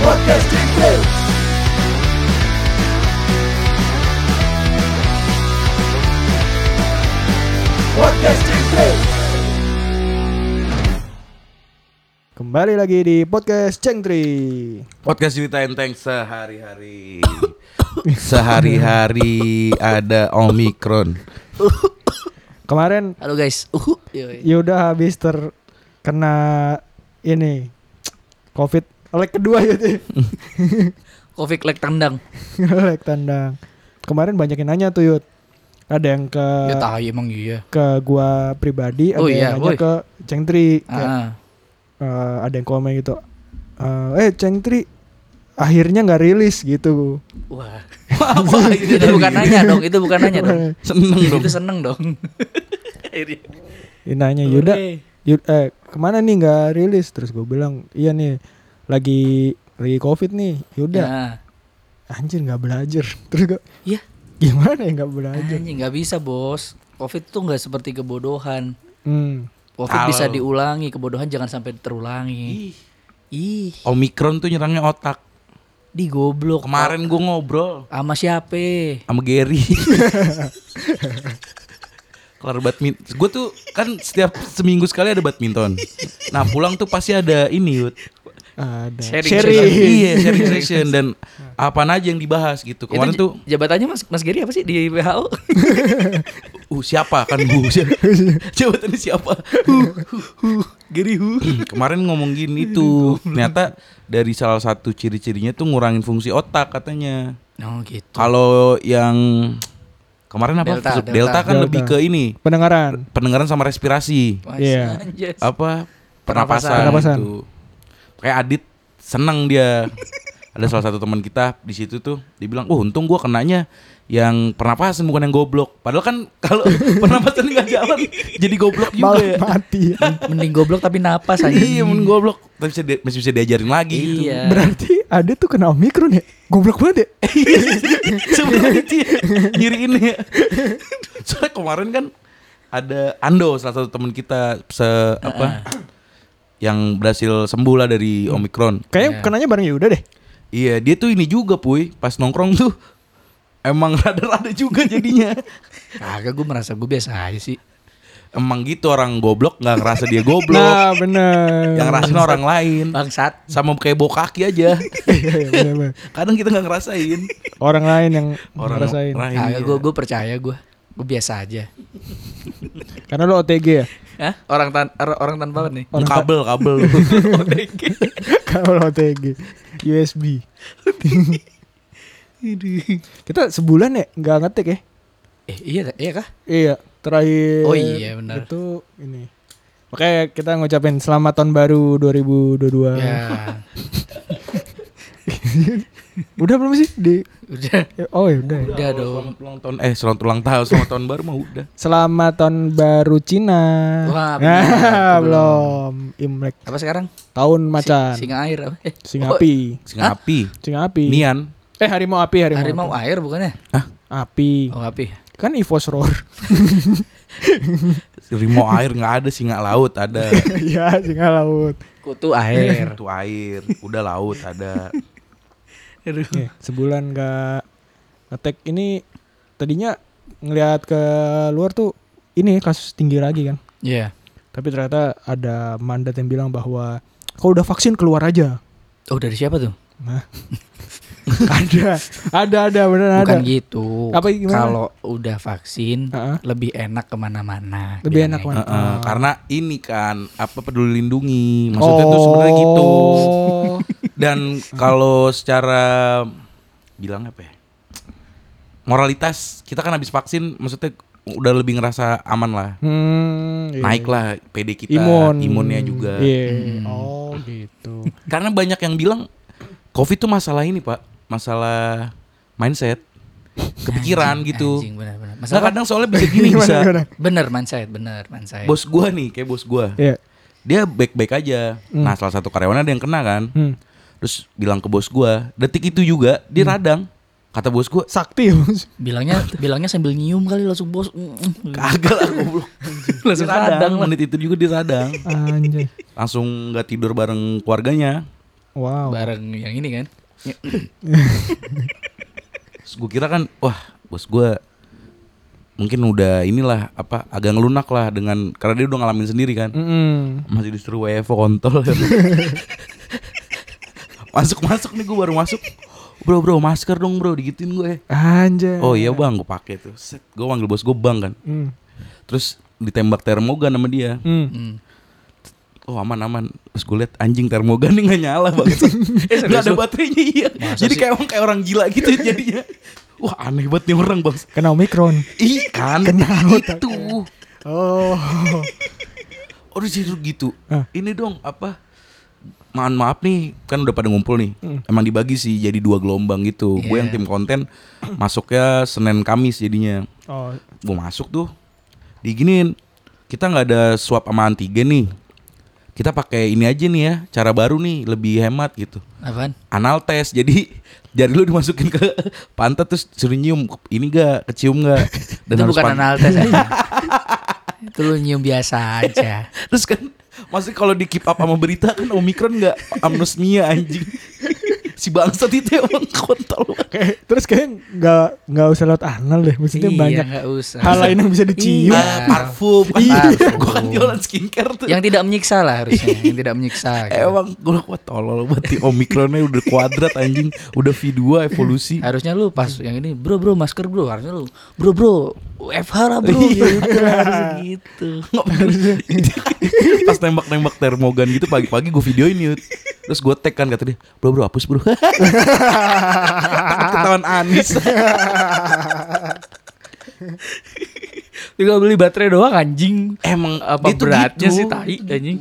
Podcast Cengtri. Podcast Cengtri. Kembali lagi di Podcast Cengtri. Podcast cerita enteng sehari-hari. Sehari-hari ada Omikron. Kemarin Halo guys. Yuda habis terkena ini COVID leg kedua ya tuh. Covid leg tendang. Leg tandang. Kemarin banyak yang nanya tuh Yud. Ada yang ke Ya tahu emang iya. ke gua pribadi, ada Oh yang iya, nanya woi. ke Cengtri. Kayak, ada yang komen gitu. Cengtri akhirnya nggak rilis gitu. Wah. Itu bukan nanya dong, itu bukan nanya dong. Seneng dong. Itu seneng dong. Dia nanya Yuda, kemana nih nggak rilis? Terus gue bilang iya nih lagi COVID nih. Yuda, Ya. anjir nggak belajar. Terus gue, Iya. gimana ya nggak belajar? Anjing nggak bisa bos. Covid tuh nggak seperti kebodohan. Covid Kalau- bisa diulangi, kebodohan jangan sampai terulangi. Ih, Omikron tuh nyerangnya otak. di goblok. Kemarin gue ngobrol Sama siapa? sama Gary. Kelar badminton. Gue tuh kan setiap seminggu sekali ada badminton. Nah pulang tuh pasti ada ini Yud. Ada Sharing. Iya sharing session. Dan apaan aja yang dibahas gitu. Kemarin Itu tuh jabatannya Mas Geri apa sih di WHO? siapa kan jabatannya siapa? Geri Kemarin ngomong gini tuh. Ternyata dari salah satu ciri-cirinya tuh ngurangin fungsi otak katanya. Oh gitu. Kalau yang kemarin apa? Delta. Delta kan Delta. lebih ke ini pendengaran sama respirasi. Iya. Apa? Pernapasan. Pernapasan. Gitu. Kayak Adit seneng dia. Ada salah satu teman kita di situ tuh, dia bilang, untung gua kenanya yang pernapasan bukan yang goblok. Padahal kan kalau pernapasan nggak jalan, jadi goblok juga malah ya. mati. Mending goblok tapi napas aja. Iya, men goblok. Tapi masih bisa diajarin lagi gitu. Iya. Berarti ada tuh kena Omikron ya. Goblok banget ya. Sebenarnya itu ya, nyiriin ya. Soalnya kemarin kan ada Ando, salah satu teman kita yang berhasil sembuh lah dari Omikron. Kayaknya Iya. kenanya bareng Yuda deh. Iya, dia tuh ini juga Puy, pas nongkrong tuh emang rada-rada juga jadinya. Kagak, gue merasa gue biasa aja sih. Emang gitu, orang goblok nggak ngerasa dia goblok. Nah bener. Yang ngerasain orang lain. Bangsat. Sama kayak bau kaki aja. Iya, bener. Kadang kita nggak ngerasain. Orang lain yang Orang ngerasain. lain. Kagak, Iya. gue percaya gue biasa aja. Karena lo OTG ya. Hah? Orang tanpa apa nih? Kabel. Kalau OTG USB. Kita sebulan ya nggak ngetik ya. Iya kah? Iya, terakhir. Oh iya, benar. Itu ini. Oke, kita ngucapin selamat tahun baru 2022. Ya, Udah belum sih di udah. Oh ya udah. Udah dong. Selamat ulang tahun, selamat tahun baru mah udah. Selamat tahun baru Cina. Wah, benar. Belum. Imlek. Apa sekarang? Tahun macan. Singa air apa? Singa api. Singa api. Singa api. Nian. Harimau api, Harimau air bukannya? api. Oh, api. Kan Evos Roar. Harimau air nggak ada, singa laut ada. Iya, singa laut. Kutu air. Itu air, udah laut ada. Aduh. Nih, sebulan gak ngetek ini tadinya ngelihat ke luar tuh ini kasus tinggi lagi kan. Iya. Tapi ternyata ada mandat yang bilang bahwa kalau udah vaksin keluar aja. Oh, dari siapa tuh? Nah. ada beneran ada. Bukan gitu. Apa gimana? Kalau udah vaksin Heeh. lebih enak kemana-mana. Lebih bilangnya enak mana? Heeh, karena ini kan peduli lindungi, maksudnya tuh sebenarnya gitu. Dan kalau secara bilang apa ya, moralitas kita kan habis vaksin, maksudnya udah lebih ngerasa aman lah, Iya. naik lah PD kita, imunnya juga. Iya. Oh gitu. Karena banyak yang bilang COVID tuh masalah ini Pak, masalah mindset, kepikiran gitu. Anjing, benar-benar. Nah Masalah kadang soalnya bisa gini bisa. bener mindset. Bos gua nih, kayak bos gua. Iya. Dia baik-baik aja. Nah salah satu karyawan ada yang kena kan. Terus bilang ke bos gua, detik itu juga dia radang. Kata bos gua, Sakti. bilangnya sambil nyium kali langsung bos. kagak lah goblok. Langsung Dia radang, radang lah. menit itu juga dia radang. Anjay. Langsung gak tidur bareng keluarganya. Wow. bareng yang ini kan. Terus gue kira kan, wah bos gue mungkin udah inilah apa agak ngelunak lah dengan karena dia udah ngalamin sendiri kan. Masih disuruh WFO kontol. Masuk nih gue baru masuk. Bro masker dong bro, digituin gue. Anjay. Oh iya bang, gue pakai tuh. Set, gue panggil bos gue bang kan. Terus ditembak termogan sama dia. Oh aman. Terus gue liat anjing termogan nih gak nyala banget. Gak ada baterainya iya. Jadi kayak orang gila gitu jadinya. Wah aneh banget nih orang bang. Kena Omikron. Ih kan itu. Oh. Oh disuruh gitu. Ini dong apa? Maaf nih kan udah pada ngumpul nih. Emang dibagi sih jadi 2 gelombang gitu. Gue yang tim konten masuknya Senin Kamis jadinya. Oh. Gue masuk tuh diginin. Kita nggak ada swab sama antigen nih. Kita pakai ini aja nih ya, cara baru nih, lebih hemat gitu. Apaan? Anal test. Jadi jari lu dimasukin ke pantat terus suruh nyium, ini gak, kecium gak. Itu bukan anal tes aja. Itu lu nyium biasa aja. Terus kan maksudnya kalau di keep up sama berita kan Omikron gak anosmia anjing. Si bangsat itu emang kontol. Terus kayak nggak usah lewat anal deh. Maksudnya Iya, banyak nggak usah. hal lain yang bisa dicium. Parfum kan. Parfum. Gue kan jualan skincare tuh. Yang tidak menyiksa lah harusnya. Yang tidak menyiksa gitu. Emang gue kuat tolol banget. Omikronnya udah kuadrat anjing. Udah V2 evolusi. Harusnya lu pas yang ini bro masker bro. Harusnya lu bro WFH lah bro. Harusnya gitu. Pas nembak termogan gitu pagi-pagi gue videoin yut. Terus gue tag kan kata dia, bro hapus bro. Ketahuan Anis. Tinggal beli baterai doang anjing. Emang Apa dia tuh beratnya gitu. sih tai anjing.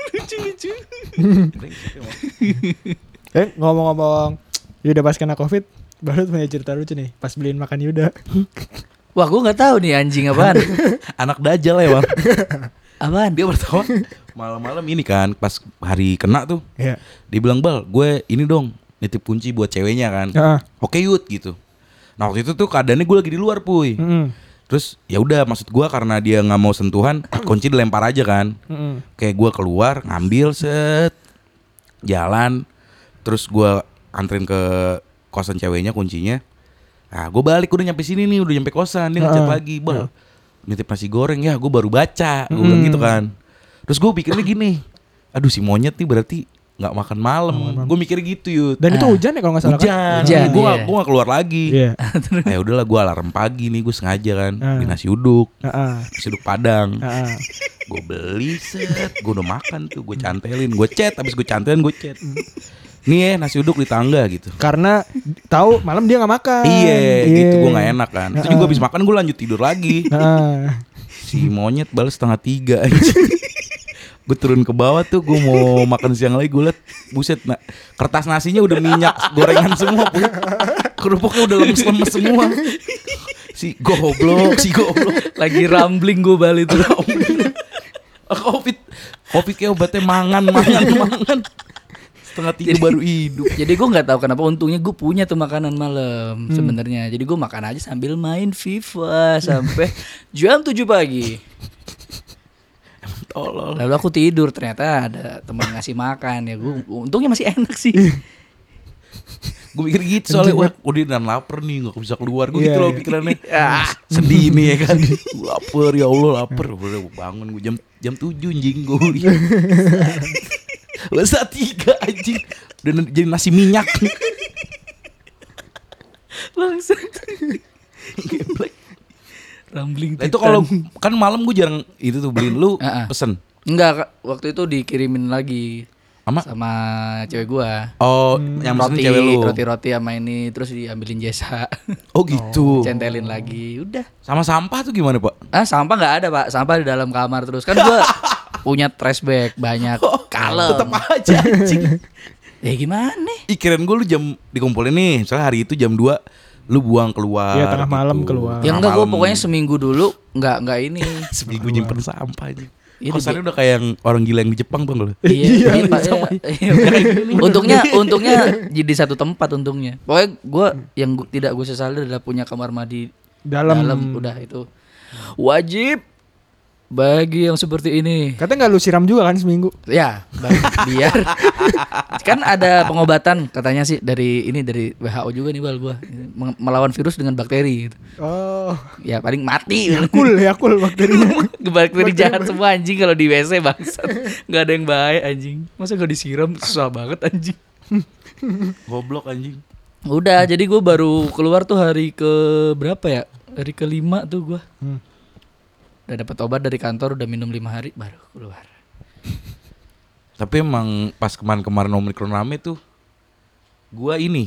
Ngomong-ngomong Yuda pas kena COVID, baru punya cerita lucu nih. Pas beliin makan Yuda. Wah gue gak tahu nih anjing apaan. Anak dajal ya bang. Apaan? Dia pertama malam-malam ini kan pas hari kena tuh. Iya. Dia bilang bal, gue ini dong nitip kunci buat ceweknya kan. Oke yut gitu. Nah waktu itu tuh keadaannya gue lagi di luar puy. Terus ya udah maksud gue karena dia nggak mau sentuhan, kunci dilempar aja kan. Kayak gue keluar ngambil set jalan, terus gue anterin ke kosan ceweknya kuncinya. Nah gue balik udah nyampe sini nih, udah nyampe kosan, dia ngechat lagi, bal nitip nasi goreng ya, gue baru baca, gue bilang gitu kan. Terus gue pikirnya gini, aduh si monyet nih berarti nggak makan malam. Gue mikir gitu yut. Dan itu hujan ya kalau nggak salah. Hujan. Gue nggak keluar lagi. Iya. Ya udahlah gue alarm pagi nih, gue sengaja kan beli nasi uduk, nasi uduk Padang. Gue beli set, gue udah makan tuh, gue cantelin, gue chat, abis gue cantelin gue chat. Nih ya nasi uduk di tangga gitu. Karena tahu malam dia nggak makan. Iya gitu, gue nggak enak kan. Itu juga abis makan gue lanjut tidur lagi. Si monyet balas 2:30 aja. Gue turun ke bawah tuh, gue mau makan siang lagi, gue liat buset, kertas nasinya udah minyak gorengan semua, kerupuknya udah lemes-lemes semua. Si goblok. Lagi rambling gue balik tuh. Covid kayak obatnya mangan. 2:30 baru hidup. Jadi gue nggak tahu kenapa, untungnya gue punya tuh makanan malam sebenarnya. Jadi gue makan aja sambil main FIFA sampai jam 7 pagi. Tolol. Lalu aku tidur, ternyata ada teman ngasih makan ya. Gue untungnya masih enak sih. Gue mikir gitu soalnya, wah udah dan lapar nih, gak bisa keluar. Gue gitu loh pikirannya. Ah. Sedih nih ya kan. Lapar ya Allah, lapar. Udah bangun gue jam 7 anjing gue lihat. Bahasa 3 anjing. Udah jadi nasi minyak. Bangsat. Rambling. Nah, itu kalau kan malam gue jarang itu tuh beliin, lu pesen. Enggak, Kak. Waktu itu dikirimin lagi sama cewek gua. Oh, yang pesen cewek lu. Roti sama ini, terus diambilin jasa. Oh gitu. Centelin lagi, udah. Sama sampah tuh gimana, Pak? Sampah nggak ada, Pak. Sampah di dalam kamar terus. Kan gua punya trash bag banyak. Kalem. Tetep aja anjing. Ya gimana? Kirain gue lu jam dikumpulin nih, misalnya hari itu jam 2 lu buang keluar. Iya, tengah malam keluar. Ya enggak, gue pokoknya seminggu dulu enggak ini. Seminggu nyimpen sampah aja. Ini kosannya udah kayak yang orang gila yang di Jepang bang lo. Iya, Pak. Untungnya jadi satu tempat untungnya. Pokoknya gue yang tidak gue sesali adalah punya kamar mandi dalam udah itu wajib. bagi yang seperti ini. Katanya nggak lu siram juga kan seminggu? Ya, biar kan ada pengobatan katanya sih dari WHO juga nih Bal gua melawan virus dengan bakteri gitu. Oh, Ya paling mati. Yakul bakterinya. Bakteri jahat semua anjing kalau di WC bangsat. Enggak ada yang baik anjing. Masa gak disiram susah banget anjing. Goblok anjing. Udah, jadi gue baru keluar tuh hari ke berapa ya? Hari ke-5 tuh gue. Udah dapat obat dari kantor, udah minum 5 hari baru keluar. Tapi emang pas kemarin Omikron rame tuh, gua ini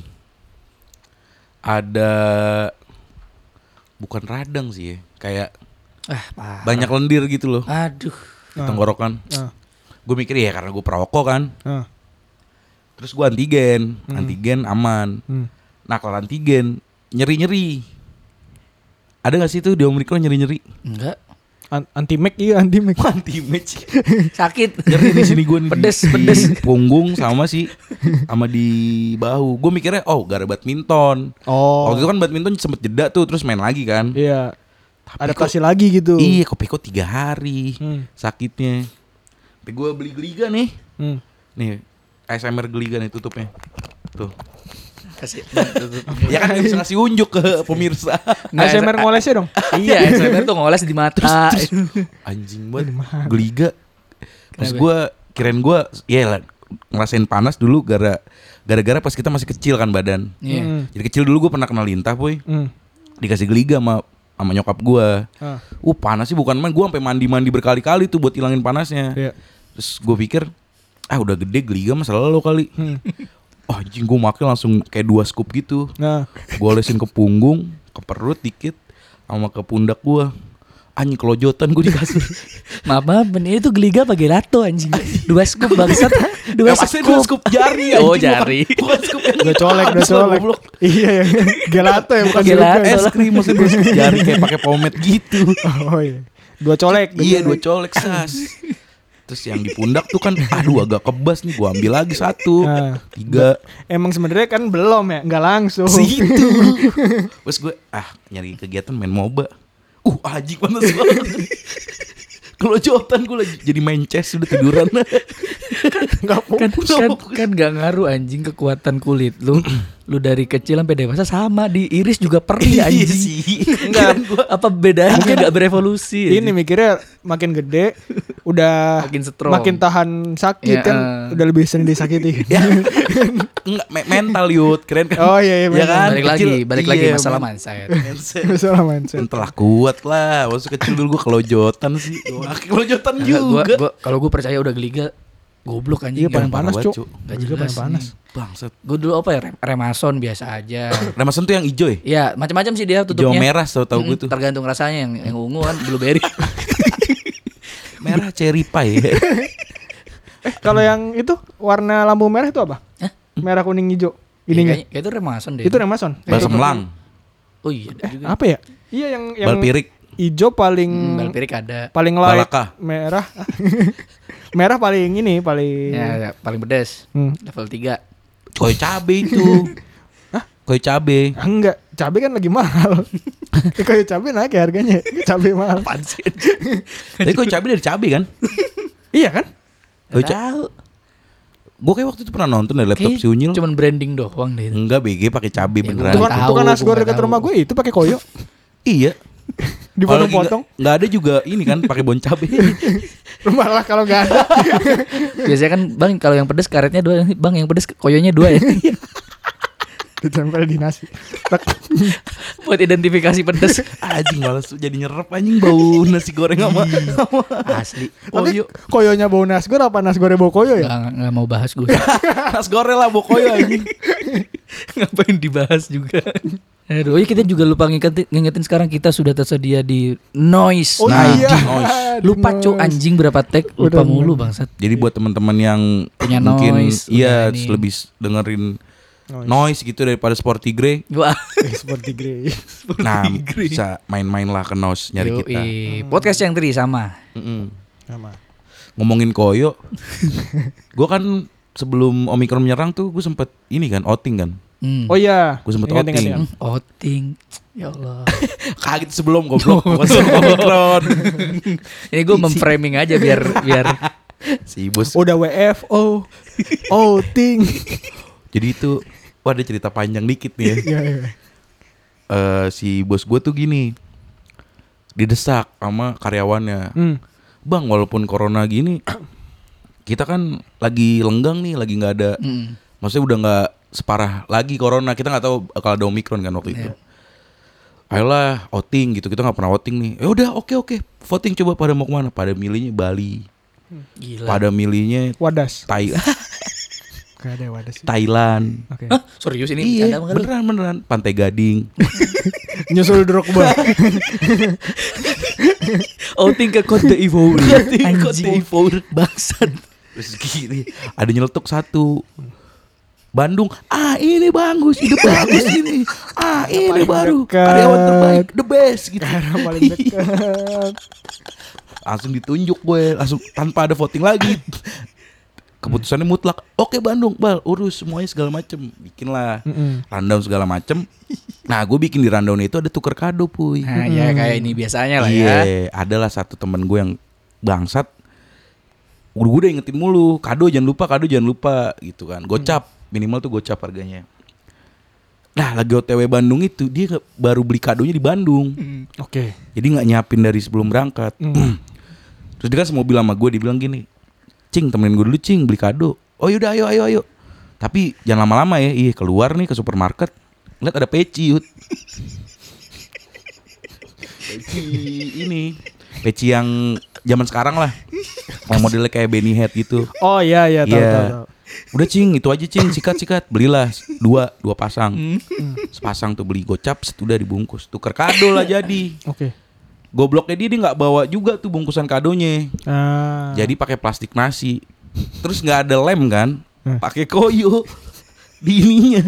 ada bukan radang sih ya, kayak Parah. banyak lendir gitu loh Aduh. di tenggorokan. Gue mikir ya karena gue perokok kan. Terus gue antigen aman. Nah kalau antigen nyeri. Ada gak sih tuh di Omikron nyeri? Enggak. Anti-Mac iya anti-Mac. Anti-match. Sakit. Nyeri di sini gue Pedes. di punggung sama di bahu. Gue mikirnya gara badminton. Oh. Waktu itu kan badminton sempet jeda tuh terus main lagi kan. Iya. Tapi Adaptasi lagi gitu. Iya kok 3 hari sakitnya. Tapi gue beli Gliga nih. Nih ASMR Gliga nih tutupnya. Tuh. Kasih. Ya kan dia bisa ngasih unjuk ke pemirsa. ASMR ngolesnya dong. Iya, ASMR tuh ngoles di mata. Anjing banget Gliga. Pas gue kirain gue ya ngerasain panas dulu gara-gara pas kita masih kecil kan badan. Iya. Jadi kecil dulu gue pernah kena lintah boy. Dikasih Gliga sama nyokap gue. Panas sih bukan main. Gue sampai mandi berkali-kali tuh buat hilangin panasnya. Iya. Terus gue pikir udah gede Gliga mah selalu kali. Anjing gue makin langsung kayak 2 scoop gitu. Gue olesin ke punggung, ke perut dikit, sama ke pundak gue. Anjing kelojotan gue di kasur. Maaf, ini tuh Gliga apa gelato anjing? 2 scoop bangsat. 2 Dua scoop jari anjing. Oh jari. Bukan scoop yang Udah colek. Iya ya. Gelato ya bukan Gelato. juga. es krim maksudnya 2 scoop jari kayak pakai pomade gitu. Oh iya. 2 colek. Iya 2 colek sas. Terus yang di pundak tuh kan agak kebas nih, gua ambil lagi 1, 3. Emang sebenarnya kan belum ya, nggak langsung. Situ. Terus gue nyari kegiatan main MOBA. Anjing panas banget. Kelojotan gue lagi jadi main chess udah tiduran. Kan gak ngaruh anjing kekuatan kulit lu. Lu dari kecil sampai dewasa sama, di iris juga perih anjing. Iya sih. Enggak, apa bedanya gak berevolusi? Ini mikirnya makin gede udah Makin strong. makin tahan sakit Ya, kan udah lebih sering disakiti. Enggak mental Yud, keren kan? Oh iya Ya kan? Balik lagi Iya, masalah mindset. Masalah mindset. Telah kuat lah. Waktu kecil dulu gue kelojotan sih. Kelojotan juga. Kalau gue percaya udah Gliga goblok anjing. Iya paling panas banget, cuk. Gak Juga jelas paling panas. Bangsat. Gue dulu apa ya, Remason biasa aja. Remason tuh yang hijau ya? Ya macam-macam sih dia Hijau tutupnya. merah tahu gue tuh. Tergantung rasanya, yang ungu kan blueberry. Merah cherry pie. Kalau yang itu warna lampu merah itu apa? Merah kuning hijau. Ininya. Kayak itu Remason deh. Itu Remason. Balsemlang. Oh iya ada juga. Apa ya? Iya yang Balpirik. hijau paling Balpirik ada. paling light. Balaka. Merah. Merah paling ini paling Ya, paling pedas. Level 3. Koi cabe itu. Koi cabe. Enggak, cabai kan lagi mahal. Kayak cabai naik ya harganya. Cabai mahal. Tapi koi cabe dari cabe kan? Iya kan? Koi Tahu. Gue kayak waktu itu pernah nonton dari laptop si Unyil. Cuman branding doang deh. Enggak BG pakai cabe Ya, beneran. gua Tukang nasgor gua dekat tahu. rumah gue itu pakai koyo. Iya. Dipotong-potong. Enggak ada juga ini kan pakai bon cabe. Rumah lah kalau enggak ada. Biasanya kan Bang kalau yang pedes karetnya 2, Bang yang pedes koyonya 2 ya. Ditempel di nasi. Buat identifikasi pedes. Anjing malas jadi nyerep anjing bau nasi goreng sama Asli. Tapi koyonya bau nasgor apa nasgornya bau koyo ya? Nggak mau bahas gue. nasi goreng lah bokoyo anjing. Ngapain dibahas juga. Aduh, kita juga lupa ngingetin sekarang kita sudah tersedia di Noise. Oh Nah, iya. noise. Lupa Di cuk Noise. anjing berapa tag lupa Udah, mulu bangsat. Jadi buat teman-teman yang Punya mungkin noise, iya punya ini. lebih dengerin noise gitu daripada Sporty Grey. Wah. Seperti grey. Nah, bisa main-main lah ke noise nyari kita. Podcast yang teri sama. Sama. Ngomongin koyo. Gue kan sebelum Omikron menyerang tuh gue sempet ini kan outing kan. Oh iya. Gue sempet Ingat, outing. ingat. Outing. Ya Allah. Kaget sebelum goblok. Omikron. Ini gue memframing aja biar Si bos. Udah WFO. Outing. Jadi itu, wah ada cerita panjang dikit nih ya. Iya, iya. Si bos gue tuh gini, didesak sama karyawannya. Bang, walaupun corona gini, kita kan lagi lenggang nih, lagi nggak ada. Maksudnya udah nggak separah lagi corona. Kita nggak tahu kalau ada Omikron kan waktu itu. Ayolah outing gitu, kita nggak pernah outing nih. Ya udah, oke. Voting coba pada mau kemana? Pada milihnya Bali. Gila. Pada milihnya Wadas. Thailand. Gak ada Wadas. Thailand. Oke. Hah? Serius ini Iya, bercanda apa lu? beneran. Pantai Gading. Nyusul Drogba. Outing ke Côte d'Ivoire. Côte d'Ivoire. Bangsat. Terus gini, ada nyeletuk satu. Bandung, ini bagus, ide bagus ini. Ini paling baru dekat. karyawan terbaik, the best gitu. Karena paling dekat. Langsung ditunjuk gue, langsung tanpa ada voting lagi. Keputusannya mutlak. Oke Bandung, Bal, urus semuanya segala macem. Bikinlah rundown segala macem. Nah, gue bikin di rundown itu ada tuker kado, puy. Nah, ya kayak ini biasanya lah ya. Iya, adalah satu temen gue yang bangsat. Gue udah ingetin mulu, kado jangan lupa gitu kan. Gocap, minimal tuh gocap harganya. Nah, lagi OTW Bandung itu dia baru beli kadonya di Bandung. Oke. Jadi nggak nyiapin dari sebelum berangkat. Terus dia kan semobil sama gue, dibilang gini, Cing, temenin gue dulu Cing, beli kado. Oh yaudah, ayo. Tapi jangan lama-lama ya. Iya, keluar nih ke supermarket, lihat ada peci, Yud. Peci yang zaman sekarang lah, yang modelnya kayak Benny Head gitu. Oh iya, tahu. Udah Cing, itu aja Cing, sikat. Belilah dua pasang. Sepasang tuh beli gocap, udah dibungkus. Tuker kado lah jadi. Oke. Gobloknya dia nggak bawa juga tuh bungkusan kadonya. Jadi Jadi pakai plastik nasi. Terus nggak ada lem kan? Pakai koyo di ininya.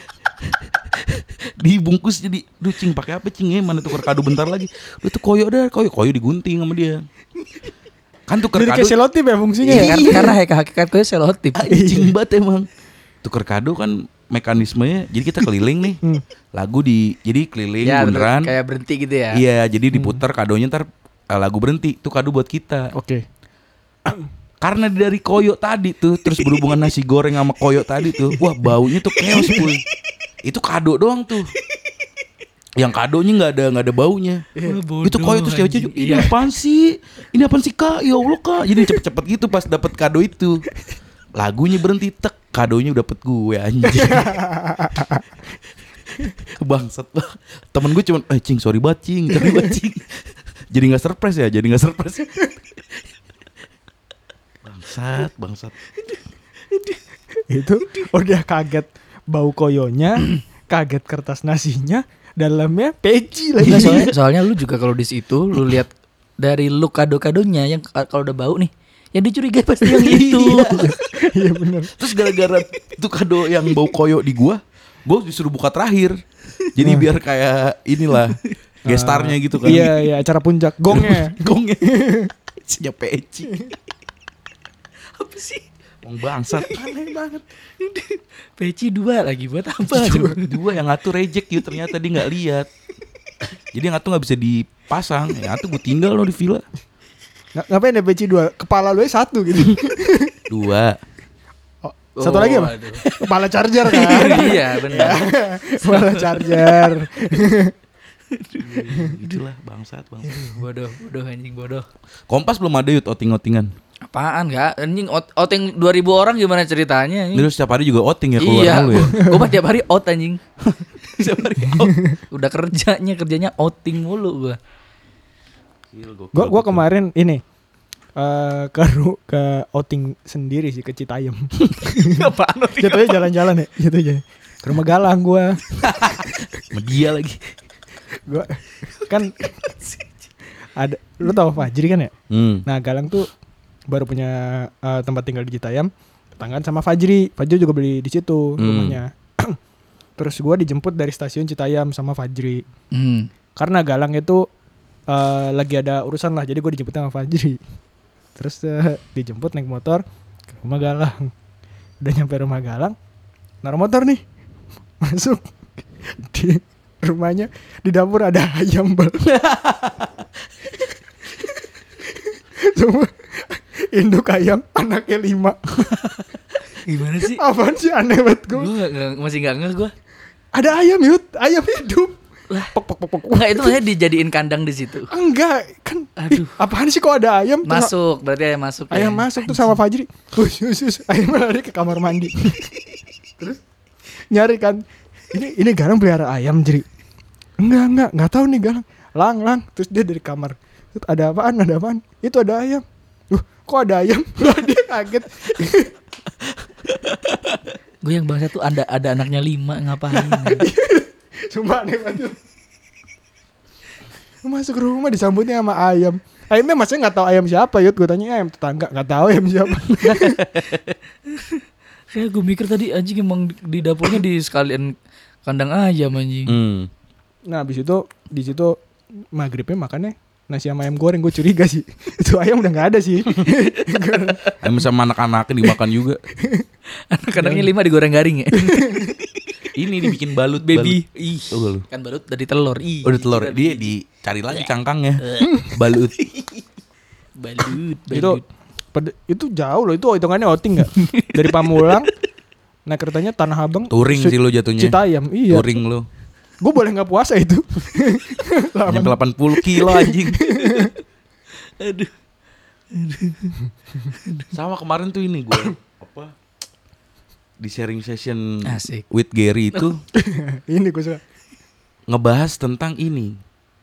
Dibungkus jadi, duh Cing pakai apa Cing ya? Mana tuker kado bentar lagi. Udah tuh koyo digunting sama dia. Kan tuker jadi kado kayak selotip ya fungsinya Iya, ya. karena hakikat gue selotip. anjing banget emang. Tuker kado kan mekanismenya, jadi kita keliling nih. Lagu jadi keliling Ya, beneran. kayak berhenti gitu ya. Iya, jadi diputar kadonya, ntar lagu berhenti. Itu kado buat kita. Oke. Karena dari koyo tadi tuh, terus berhubungan nasi goreng sama koyo tadi tuh, wah baunya tuh chaos puy. Itu kado doang tuh. Yang kadonya nggak ada baunya. Itu koyo terus cewek-cewek, ini apaan sih? Ini apaan sih Kak? Ya Allah Kak. Jadi cepet-cepet gitu pas dapet kado itu. Lagunya berhenti, tek, kadonya udah dapet gue anjing. Bangsat lah. Temen gue cuman, Cing sorry banget Cing. Jadi gak surprise ya. Bangsat. Itu udah kaget bau koyonya, kaget kertas nasinya, dalamnya peci lagi. Enggak, soalnya lu juga kalau di situ lu lihat dari lu kado-kadonya yang kalau udah bau nih, yang dicurigai pasti yang itu. Iya benar. Terus gara-gara itu kado yang bau koyo di gue disuruh buka terakhir. Jadi biar kayak inilah gestarnya gitu kan. Iya, acara puncak gongnya. Isinya peci. Apa sih? Wong bangsat. Aneh banget. Peci 2 lagi buat apa? Dua yang ngatur reject yuk, ternyata dia nggak lihat. Jadi yang ngatur nggak bisa dipasang. Yang ngatur gue tinggal loh di villa. Ngapain ya peci 2? Kepala lu 1 gitu. 2. Satu lagi apa? Aduh. Kepala charger kan. Iya benar. Kepala charger. Itulah bangsat. Bodoh anjing bodoh. Kompas belum ada yut outing-outingan. Apaan gak? Anjing outing 2000 orang gimana ceritanya? Ini lu setiap hari juga outing ya keluar Iya, lu ya. gue mah tiap hari out anjing. Tiap hari out. Udah kerjanya outing mulu gue. Gua kemarin ini ke outing sendiri sih ke Citayam. Apaan outing? Jatuhnya jalan-jalan ya, jatuhnya. Ke rumah Galang gua. Sama dia lagi. Gua kan ada, lu tahu Fajri kan ya? Nah, Galang tuh baru punya tempat tinggal di Citayam, tetanggaan sama Fajri. Fajri juga beli di situ rumahnya. Terus gua dijemput dari stasiun Citayam sama Fajri. Karena Galang itu lagi ada urusan lah, jadi gue dijemput sama Fajri. Terus dijemput naik motor ke rumah Galang. Udah nyampe rumah Galang, naruh motor nih, masuk di rumahnya, di dapur ada ayam bal. Cuma induk ayam anaknya 5. Gimana sih? Apaan sih, aneh banget gue. Masih nggak ngeh gue. Ada ayam ayam hidup. Lah, Pok, pok, pok, pok. enggak, itu maksudnya dijadiin kandang di situ. Enggak kan. Aduh. Apaan sih kok ada ayam? Masuk, berarti ayam masuk. Ayam masuk tuh sama Fajri. Ayam lari ke kamar mandi. Terus nyari kan. Ini Galang pelihara ayam, Jri. Enggak tahu nih Galang. Lang. Terus dia dari kamar. Terus ada apaan? Itu ada ayam. Kok ada ayam? Dia kaget. Gue yang bangsa tuh ada anaknya 5, ngapain? Sumpah aneh banget. Masuk rumah disambutnya sama ayam. Ayamnya maksudnya nggak tahu ayam siapa, Yud. Gue tanya ayam tetangga, nggak tahu ayam siapa. Kayak gue mikir tadi anjing emang di dapurnya di sekalian kandang ayam anjing. Nah abis itu di situ maghribnya makannya nasi sama ayam goreng. Gue curiga sih itu ayam udah nggak ada sih. Ayam sama anak-anaknya dimakan juga. Anak-anaknya 5 digoreng garing ya. Ini dibikin balut Baby. balut. Ih, Tuh lu. kan balut dari telur. Ih. Udah telur dia dicari lagi cangkangnya. Balut. Balut. Itu jauh loh, itu hitungannya outing nggak? Dari Pamulang naik keretanya Tanah Abang, Touring sih lo jatuhnya. Citayam. Iya. Touring lo. Gue boleh nggak puasa itu? Nyampe 80 kilo anjing. Aduh. Sama kemarin tuh ini gue apa di sharing session Asik. with Gary itu Ini gue suka. ngebahas tentang ini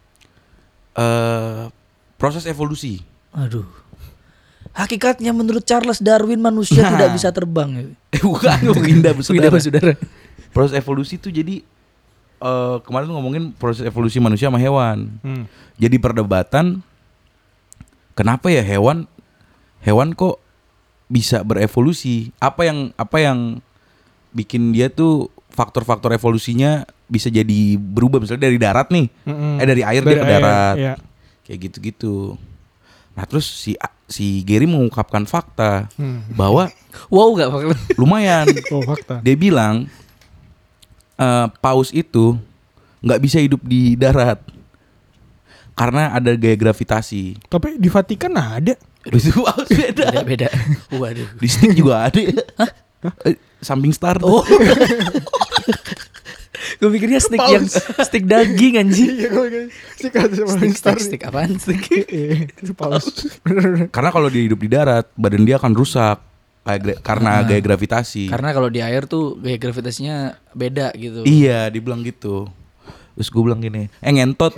proses evolusi. Aduh. Hakikatnya menurut Charles Darwin manusia tidak bisa terbang. Bukan Winda Sudah saudara. Proses evolusi tuh jadi kemarin tuh ngomongin proses evolusi manusia sama hewan. Jadi perdebatan kenapa ya hewan kok bisa berevolusi? Apa yang bikin dia tuh faktor-faktor evolusinya bisa jadi berubah, misalnya dari darat nih. Dari air dia ke darat. Iya. Kayak gitu-gitu. Nah, terus si Gary mengungkapkan fakta bahwa Wow, enggak fakta. lumayan. Oh, fakta. Dia bilang paus itu nggak bisa hidup di darat karena ada gaya gravitasi. Tapi di Vatikan ada. Itu paus beda. Beda. Waduh. Di stick juga ada. Samping star. Oh. Gue mikirnya stick yang stick daging anjing. Iya, gue Stick apaan stick? Itu paus. Bener. Karena kalau dia hidup di darat, badan dia akan rusak karena gaya gravitasi. Karena kalau di air tuh gaya gravitasinya beda gitu. Iya, dibilang gitu. Terus gue bilang gini, ngentot.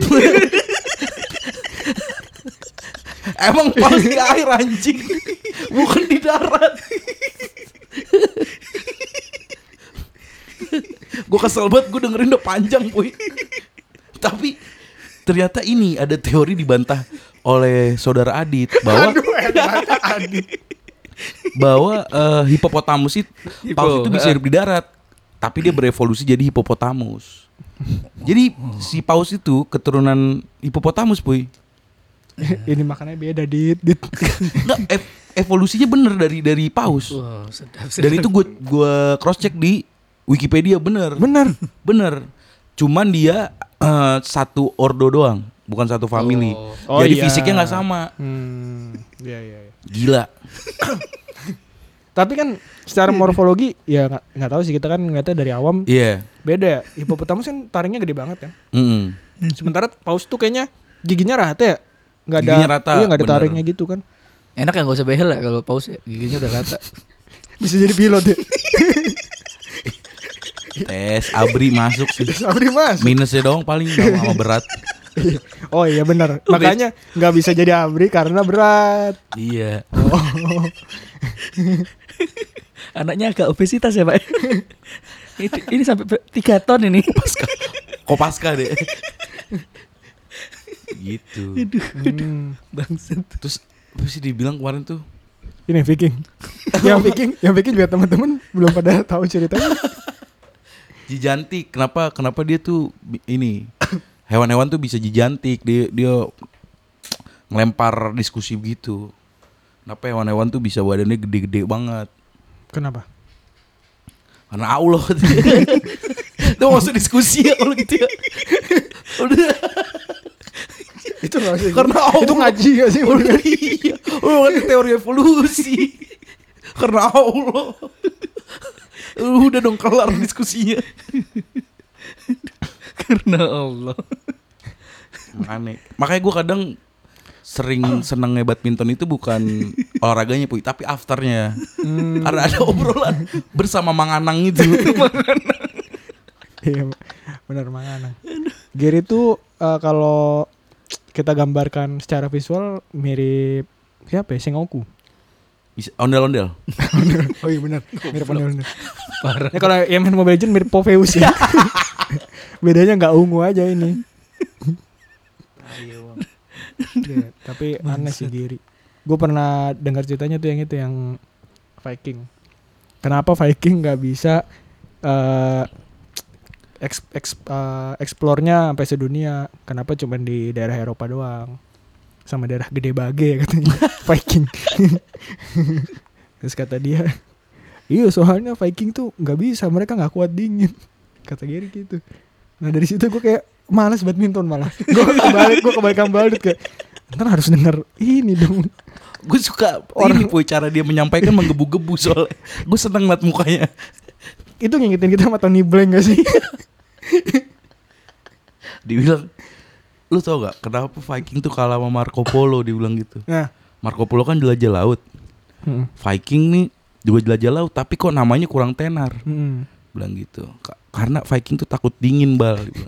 Emang paus di air anjing, bukan di darat. Gue kesel banget, gue dengerin udah panjang boy. Tapi ternyata ini ada teori dibantah oleh saudara Adit bahwa bahwa hipopotamus itu paus itu bisa hidup di darat, tapi dia berevolusi jadi hipopotamus. Jadi si paus itu keturunan hipopotamus boy. Ini makannya beda dit. Nggak, evolusinya bener dari paus. Wow, sedap. Dan itu gue cross check di Wikipedia bener. Cuman dia satu ordo doang, bukan satu family. Oh, jadi iya. fisiknya nggak sama. Iya. Gila. Tapi kan secara morfologi ya nggak tahu sih, kita kan ngeliatnya dari awam. Iya. Beda ya. Hipopotamus kan taringnya gede banget kan. Mm-mm. Sementara paus tuh kayaknya giginya rata ya. Nggak ada. Giginya rata, Iya, nggak ada bener. taringnya gitu kan. Enak ya gak usah behel ya kalau paus ya, giginya udah rata. Bisa jadi pilot ya. Tes Abri masuk sih. Abri mas. Minusnya doang paling sama berat. Oh iya benar. Makanya nggak bisa jadi abri karena berat. Iya. Anaknya agak obesitas ya Pak. Ini sampai 3 ton ini. Kopaska deh. Gitu. Bangsat. Terus apa sih dibilang kemarin tuh? Ini Viking. yang Viking juga teman-teman belum pada tahu ceritanya. Jijantik. Kenapa dia tuh ini hewan-hewan tuh bisa jijantik. Dia ngelempar diskusi begitu. Kenapa hewan-hewan tuh bisa badannya gede-gede banget? Kenapa? Karena Allah. Itu masuk diskusi ya kalau gitu ya. Udah. Itu nggak sih? Karena itu ngaji gak sih? Udah iya. Kan teori evolusi. Karena Allah. Udah dong kelar diskusinya. Karena Allah. Makanya gue kadang sering seneng badminton itu bukan olahraganya Puy, tapi afternya. Karena ada obrolan bersama Mang Anang itu. Iya benar Mang Anang. Gary itu kalau kita gambarkan secara visual mirip siapa ya? Sengoku. Ondel-ondel. Oh iya benar, mirip ondel-ondel. Parah. Ya kalau yang main Mobile Legends mirip Popheus ya. Bedanya nggak ungu aja ini. Ya, tapi aneh sih Giri. Gue pernah dengar ceritanya tuh yang Viking. Kenapa Viking nggak bisa explore-nya sampai sedunia? Kenapa cuma di daerah Eropa doang? Sama daerah Gede Bage katanya Viking. Terus kata dia, iya soalnya Viking tuh nggak bisa, mereka nggak kuat dingin. Kata Gary gitu. Nah dari situ gue kayak malas badminton malah. Gue kebalikan Baldut kayak ntar harus denger ini dong. Gue suka ini Puy, cara dia menyampaikan menggebu-gebu soalnya. Gue seneng liat mukanya. Itu ngingetin kita sama Tony Blank gak sih? Dibilang, lu tau gak kenapa Viking tuh kalah sama Marco Polo, dibilang gitu. Nah. Marco Polo kan jelajah laut. Viking nih juga jelajah laut, tapi kok namanya kurang tenar. Bilang gitu. Karena Viking tuh takut dingin Bal, dibilang.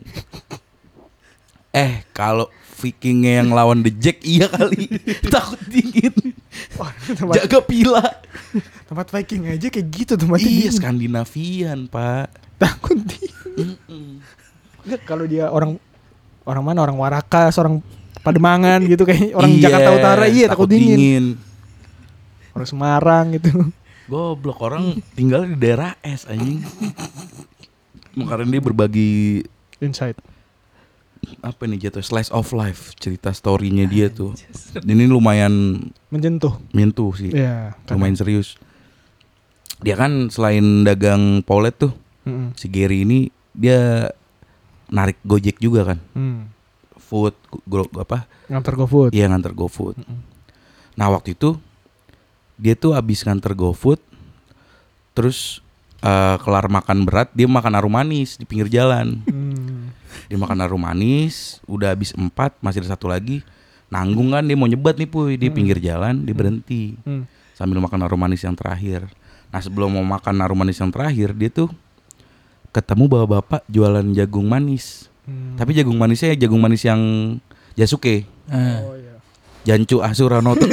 Kalau Vikingnya yang lawan The Jack iya kali. Takut dingin. Jaga pila. Tempat Viking aja kayak gitu tempatnya. Iya, Skandinavian, Pak. Takut dingin. Kalau dia orang mana? Orang Warakas, orang Pademangan gitu kayak orang Jakarta Utara, iya takut dingin. Orang Semarang gitu. Goblok, orang tinggal di daerah es anjing. Makanya dia berbagi insight. Apa nih jatuh slice of life, cerita story-nya dia tuh. Ini lumayan menyentuh sih. Iya, lumayan serius. Dia kan selain dagang polet tuh, si Gary ini dia narik Gojek juga kan. Food nganter GoFood. Iya, nganter GoFood. Nah, waktu itu dia tuh habis nganter GoFood, terus kelar makan berat, dia makan harum manis di pinggir jalan. Dia makan harum manis, udah habis 4, masih ada 1 lagi. Nanggung kan, dia mau nyebat nih Puy, di pinggir jalan, dia berhenti sambil makan harum manis yang terakhir. Nah, sebelum mau makan harum manis yang terakhir, dia tuh ketemu bapak-bapak jualan jagung manis. Tapi jagung manisnya jagung manis yang Jasuke. Oh iya. Jancu Asuranoto.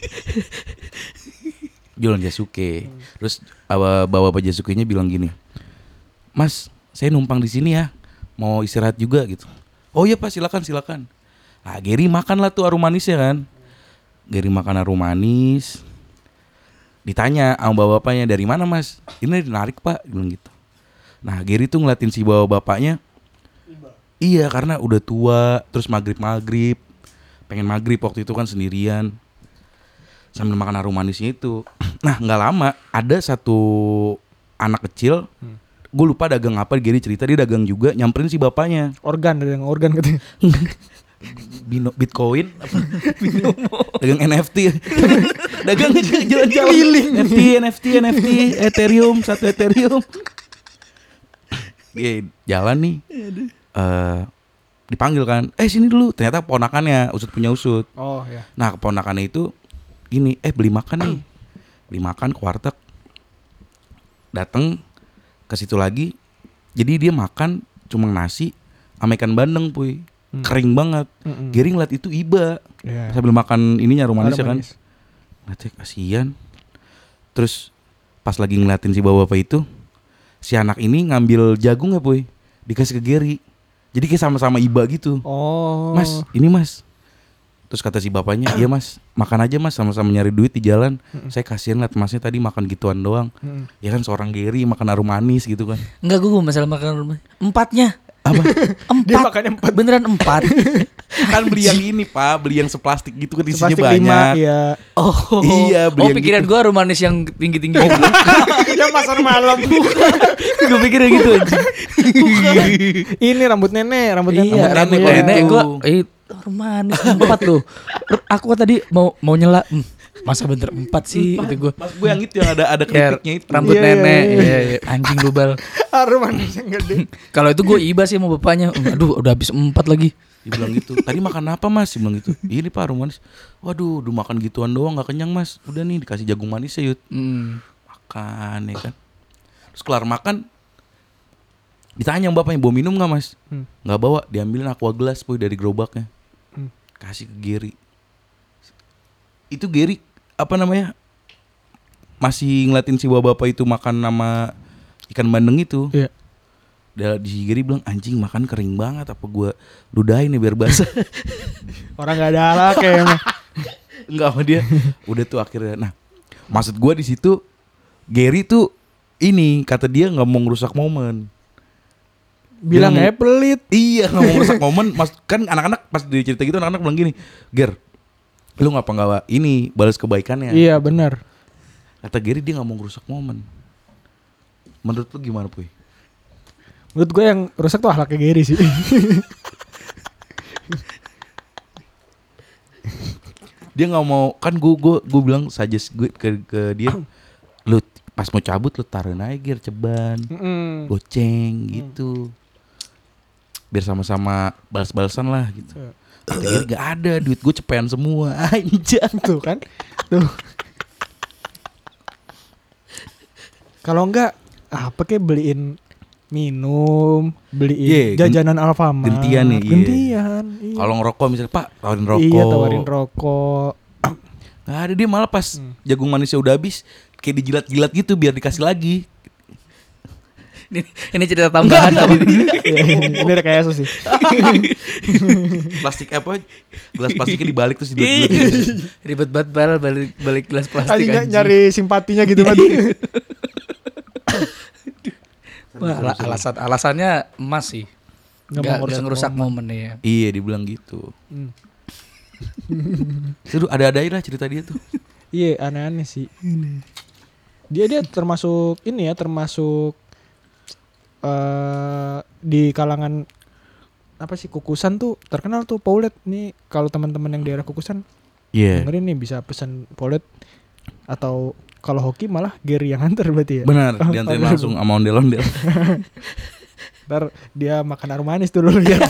Jualan Jasuke. Terus bapak-bapak Jasukenya bilang gini, "Mas, saya numpang di sini ya. Mau istirahat juga gitu." "Oh iya Pak, silakan." Nah, Gary makan lah tuh harum manisnya kan. Gary makan harum manis. Ditanya sama bapak-bapaknya, "Dari mana Mas?" "Ini narik Pak," bilang gitu. Nah, Gary tuh ngeliatin si bapak-bapaknya. Iya, karena udah tua, terus maghrib. Pengen maghrib waktu itu kan sendirian. Sambil makan harum manisnya itu. Nah, gak lama ada satu anak kecil, gue lupa dagang apa, Gary cerita dia dagang juga, nyamperin si bapaknya. Dagang organ katanya. Bitcoin dagang NFT. Dagang jalan-jalan NFT Ethereum, 1 Ethereum. Dia jalan nih, dipanggil kan, sini dulu. Ternyata ponakannya, usut punya usut. Oh ya. Nah, keponakannya itu gini, beli makan nih. Beli makan ke warteg. Dateng ke situ lagi. Jadi dia makan cuma nasi sama ikan bandeng Puy. Kering banget. Gary ngeliat itu iba. Sambil makan ininya harum manis ya kan. Ngeliatnya kasihan. Terus pas lagi ngeliatin si bapak-bapak itu, si anak ini ngambil jagung ya Puy, dikasih ke Gary. Jadi kayak sama-sama iba gitu. Oh. "Mas, ini Mas." Terus kata si bapaknya, "Iya Mas, makan aja Mas, sama-sama nyari duit di jalan. Saya kasihan liat Masnya tadi makan gituan doang." Ya kan seorang Gary makan harum manis gitu kan. Enggak, gue masalah makan rumah. 4-nya. Apa? Dia 4. makannya 4. Beneran 4. Kan beli yang ini Pak, beli yang seplastik gitu kan isinya Plastik banyak. 5 ya. Oh. Iya, beli Oh, yang pikiran gitu. gua harum manis yang tinggi-tinggi. Yang pasar malam. Gue pikirnya gitu anjing. Ini rambut nenek, rambut nenek. Iya, rambut rambut nenek nenek itu. gua harum manis 4 loh. Aku tadi mau nyela. Masa bener 4 sih itu gua. Mas gue yang itu yang ada Ya, keripiknya itu. rambut Iya, nenek. iya, Iya, iya. Anjing lu bal. Harum manis yang gede. Kalau itu gue iba sih sama bapaknya. Aduh, udah habis 4 lagi. Dia bilang gitu. Tadi makan apa Mas? Dia bilang gitu. Ini Pak harum manis. Waduh, udah makan gituan doang gak kenyang Mas. Udah nih dikasih jagung manis ya Yud. Makan ya kan. Terus kelar makan ditanya sama bapaknya bawa minum gak Mas? Gak bawa. Diambilin aqua gelas boy dari gerobaknya. Kasih ke Gary. Itu Gary apa namanya? Masih ngeliatin si bapak itu makan sama ikan bandeng itu. Iya. Di Gary bilang anjing makan kering banget apa gue ludahin nih biar basah. Orang gak ada ala kayaknya. Enggak sama dia. Udah tuh akhirnya. Nah, maksud gue di situ Gary tuh ini kata dia nggak mau ngerusak momen. Bilang Dia pelit. Iya nggak mau ngerusak momen. Mas kan anak-anak pas dia cerita gitu anak-anak bilang gini, Ger, lu ngapa nggak ini balas kebaikannya? Iya benar. Kata Gary dia nggak mau ngerusak momen. Menurut lu gimana Puy? Menurut gue yang rusak tuh akhlaknya Gary sih. Dia nggak mau kan gue bilang suggest gue ke dia, lu pas mau cabut lu taruhin aja Ger ceban, goceng gitu, biar sama-sama balas-balasan lah gitu. Kata Gary gak ada duit gue cepean semua anjay. Tuh kan. Tuh. Kalau enggak apa kayak beliin minum, beliin Iya, jajanan Alfamart. gentian nih, iya. Gentian. Iya. Kalau ngerokok misalnya Pak tawarin rokok. Iya, tawarin rokok. Gak ada, dia malah pas jagung manisnya udah habis kayak dijilat-jilat gitu biar dikasih lagi. Ini cerita tambahan tadi. Ini rekayasa sih. Plastik apa? Gelas plastiknya dibalik terus dijilat-jilat. Ribet banget bal balik gelas plastik Tadi anjing. nyari simpatinya gitu kan. Wah, alasannya emas sih. Nggak mau Nggak ngerusak momen ya. Iya dibilang gitu. Seru ada lah cerita dia tuh. Iya, aneh-aneh sih. Dia termasuk ini ya, termasuk di kalangan apa sih Kukusan tuh terkenal tuh Paulet nih. Kalau teman-teman yang daerah Kukusan dengerin nih bisa pesan Paulet, atau kalau hoki malah Gary yang antar berarti ya. Benar, diantarin langsung sama ondel-ondel. Ntar dia makan harum manis tuh lu lihat.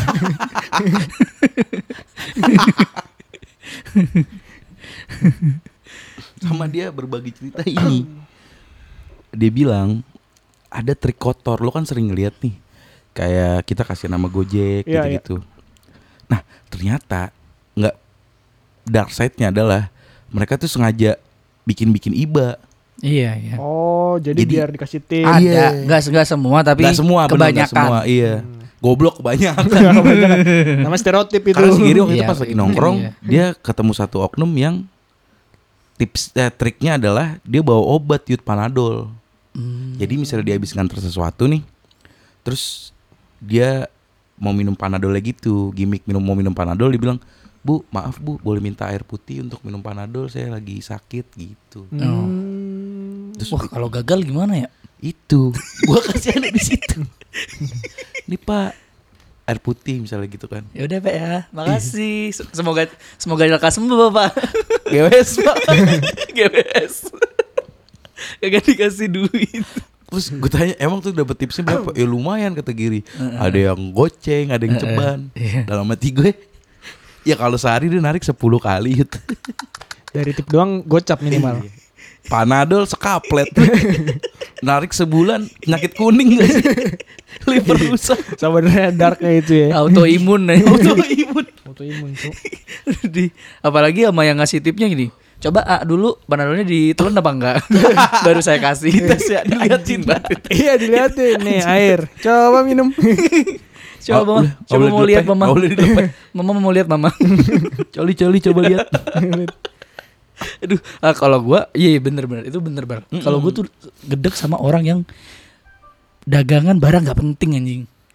Sama dia berbagi cerita ini. Dia bilang ada trik kotor. Lo kan sering ngeliat nih, kayak kita kasih nama Gojek Iya, gitu-gitu. Nah ternyata nggak, dark side-nya adalah mereka tuh sengaja bikin iba. Iya. Oh, jadi biar dikasih tip. Ada, nggak semua tapi Nggak semua, bener, nggak kebanyakan. semua, iya. Goblok kebanyakan. Kebanyakan. Nama stereotip itu. Karena si Giri waktu itu Iya, pas lagi iya. nongkrong, dia ketemu satu oknum yang triknya adalah dia bawa obat Yud Panadol. Jadi misalnya dia habis nganter sesuatu nih, terus dia mau minum Panadolnya gitu, gimmick mau minum Panadol, dia bilang, Bu, maaf Bu, boleh minta air putih untuk minum Panadol, saya lagi sakit gitu. Terus Wah, kalau gagal gimana ya? itu, gua kasih ada di situ. Ini Pak, air putih misalnya gitu kan. Ya udah Pak ya, makasih. Semoga lekas sembuh Bapak. GWS Pak. GBS. Kagak dikasih duit. Terus gue tanya emang tuh dapet tipsnya berapa? Ya lumayan kata Giri. Ada yang goceng, ada yang ceban. Iya. Dalam hati gue, ya kalau sehari dia narik 10 kali gitu. Dari tip doang gocap minimal. Panadol sekaplet. Narik sebulan penyakit kuning gak sih? Liver rusak. Sebenarnya darknya itu ya. Autoimun nih. Autoimun tuh. Apalagi sama yang ngasih tipnya gini. Coba dulu Panadolnya ditelan apa enggak? Baru saya kasih. Tes ya, dilihatin banget. Iya dilihatin nih air. Coba minum. Coba Mama, coba mau lihat Mama. Mama mau lihat Mama. Coli coba lihat. Aduh, kalau gua iya bener itu bener banget. Kalau gua tuh gedek sama orang yang dagangan barang nggak penting anjing.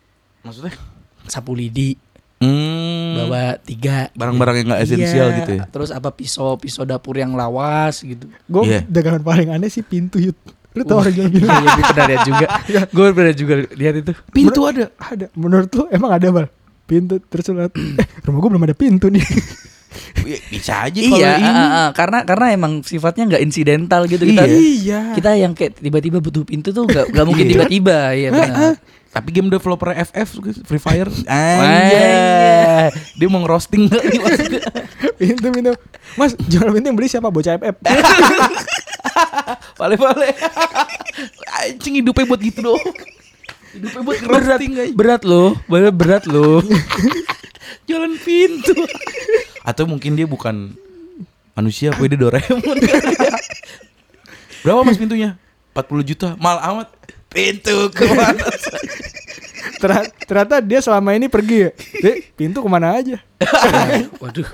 Maksudnya? Sapu lidi. Hmm. Bawa 3 Barang-barang yang nggak esensial Iya, gitu ya. Terus apa pisau dapur yang lawas gitu. Gue Iya. dagangan paling aneh sih pintu Yud. Lu tau orang jual pintu? Iya, gue pernah lihat juga. Gue pernah juga lihat itu. Pintu ada. Ada. Menurut lu emang ada Bal? Pintu terus lu liat, rumah gue belum ada pintu nih. Bisa aja kalau Iya, ini. karena emang sifatnya nggak insidental gitu kita. Iya. Kita yang kayak tiba-tiba butuh pintu tuh nggak mungkin tiba-tiba, ya benar. Tapi game developer FF Free Fire Wah. dia mau ngerosting kali maksudnya. Pintu. Mas, jual pintu yang beli siapa? Bocah FF. Pale-pale. Anjing hidupnya buat gitu doang. Hidupnya buat ngerosting aja. Berat loh. Jalan pintu. Atau mungkin dia bukan manusia, apa dia Doraemon. Berapa Mas pintunya? 40 juta. Mal amat. Pintu kemana? Ternyata dia selama ini pergi ya. Pintu kemana aja? Waduh.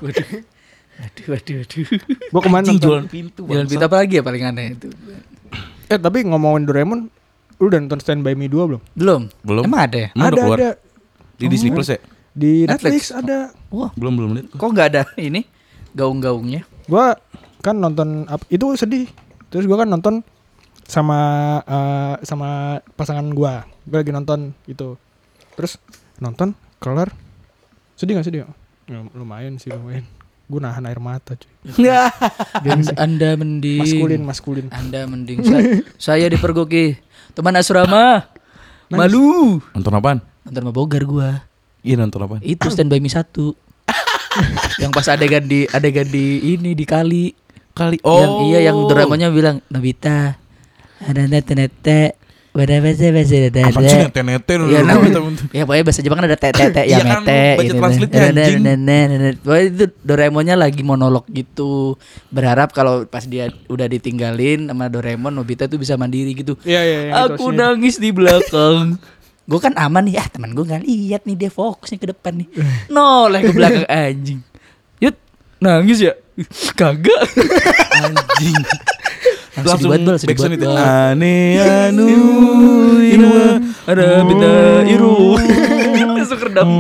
Gua kemana Anjing, nonton? jualan pintu. Jalan bangsat. pintu apa lagi ya paling aneh itu? Tapi ngomongin Doraemon, lu udah nonton Stand By Me 2 belum? Belum. Emang ada ya? Emang udah keluar? Ada. Di Disney Plus ya? Di Netflix. Netflix ada. Wah, Belum lihat. kok nggak ada ini gaung-gaungnya? Gua kan nonton itu sedih. Terus gua kan nonton sama pasangan gua. Gua lagi nonton gitu. Terus nonton kelar. Sedih gak sedih? Ya, lumayan sih lumayan. Gua nahan air mata cuy. Anda mending Maskulin. Anda mending saya dipergoki teman asrama. Malu. Nonton apaan? Nonton sama Bogar gua. Iya nonton apaan? Itu Stand By Me 1. Yang pas adegan di ini di kali. Yang Doraemonnya bilang Nobita ada nete Apaan sih nete ya, ya pokoknya bahasa Jepang kan ada tete Iya ya kan, mete baca gitu. translate-nya, anjing. Pokoknya itu Doraemonnya lagi monolog gitu. Berharap kalau pas dia udah ditinggalin sama Doraemon, Nobita tuh bisa mandiri gitu. Iya. Aku nangis di belakang. Gue kan aman nih, teman gue nggak lihat nih, dia fokusnya ke depan nih. Noleh ke belakang anjing. Yud, nangis ya? Kagak. Anjing. Langsung backsound itu. Bal. Ane anu Inu ada beda iru. Langsung redam.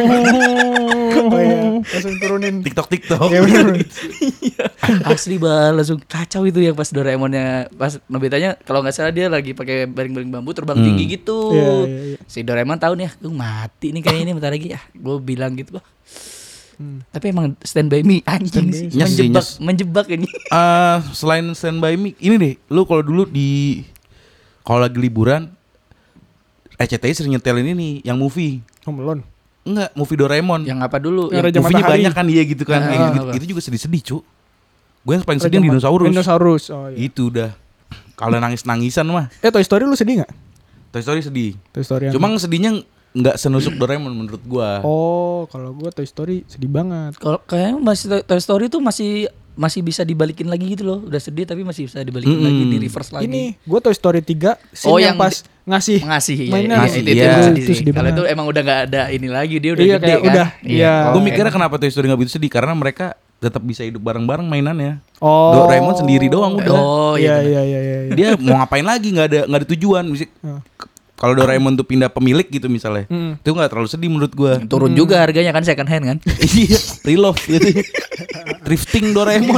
Oh iya, langsung turunin. TikTok. Iya bener. Asli Bal, langsung kacau itu yang pas Doraemonnya, pas Nobitanya kalau nggak salah dia lagi pakai baring-baring bambu terbang tinggi gitu. Iya. Si Doraemon tahu nih, gue mati nih kayaknya ini bentar lagi ya. Gue bilang gitu bah. Tapi emang Stand By Me anjing sih, Nyes sih, nyes. menjebak ini. Selain Stand By Me, ini deh, lu kalau dulu kalau lagi liburan RCTI sering nyetelin ini yang movie. Home Alone. Enggak, movie Doraemon. Yang apa dulu? Yang Yang Raja Movie-nya Matahari. banyak kan dia gitu kan. Ah, Kayak gitu. apa? Itu juga sedih-sedih, Cuk. Gue yang paling sedih dinosaurus. Dinosaurus. Oh iya. Itu udah. Kalau nangis-nangisan mah Toy Story lu sedih gak? Toy Story sedih. Toy Story yang... Cuma sedihnya nggak senusuk Doraemon menurut gua. Oh, kalau gua Toy Story sedih banget. Kalau kayaknya masih Toy Story tuh masih bisa dibalikin lagi gitu loh. Udah sedih tapi masih bisa dibalikin lagi, di reverse lagi. Ini gua Toy Story 3 scene Oh, yang yang pas ngasih ngasih ya, mainan. Ngasih, itu iya. sedih Itu sih. sedih Kalau banget. itu emang udah nggak ada ini lagi, dia udah Iya, gede kayak kan. udah. Iya. Gue mikirnya kenapa Toy Story nggak begitu sedih karena mereka tetap bisa hidup bareng-bareng mainannya. Oh. Doraemon sendiri doang udah. Oh iya. Iya. Dia mau ngapain lagi, nggak ada tujuan. Kalau Doraemon tuh pindah pemilik gitu misalnya, itu nggak terlalu sedih menurut gua. Turun juga harganya kan, second hand kan. Iya, reload gitu. Drifting Doraemon.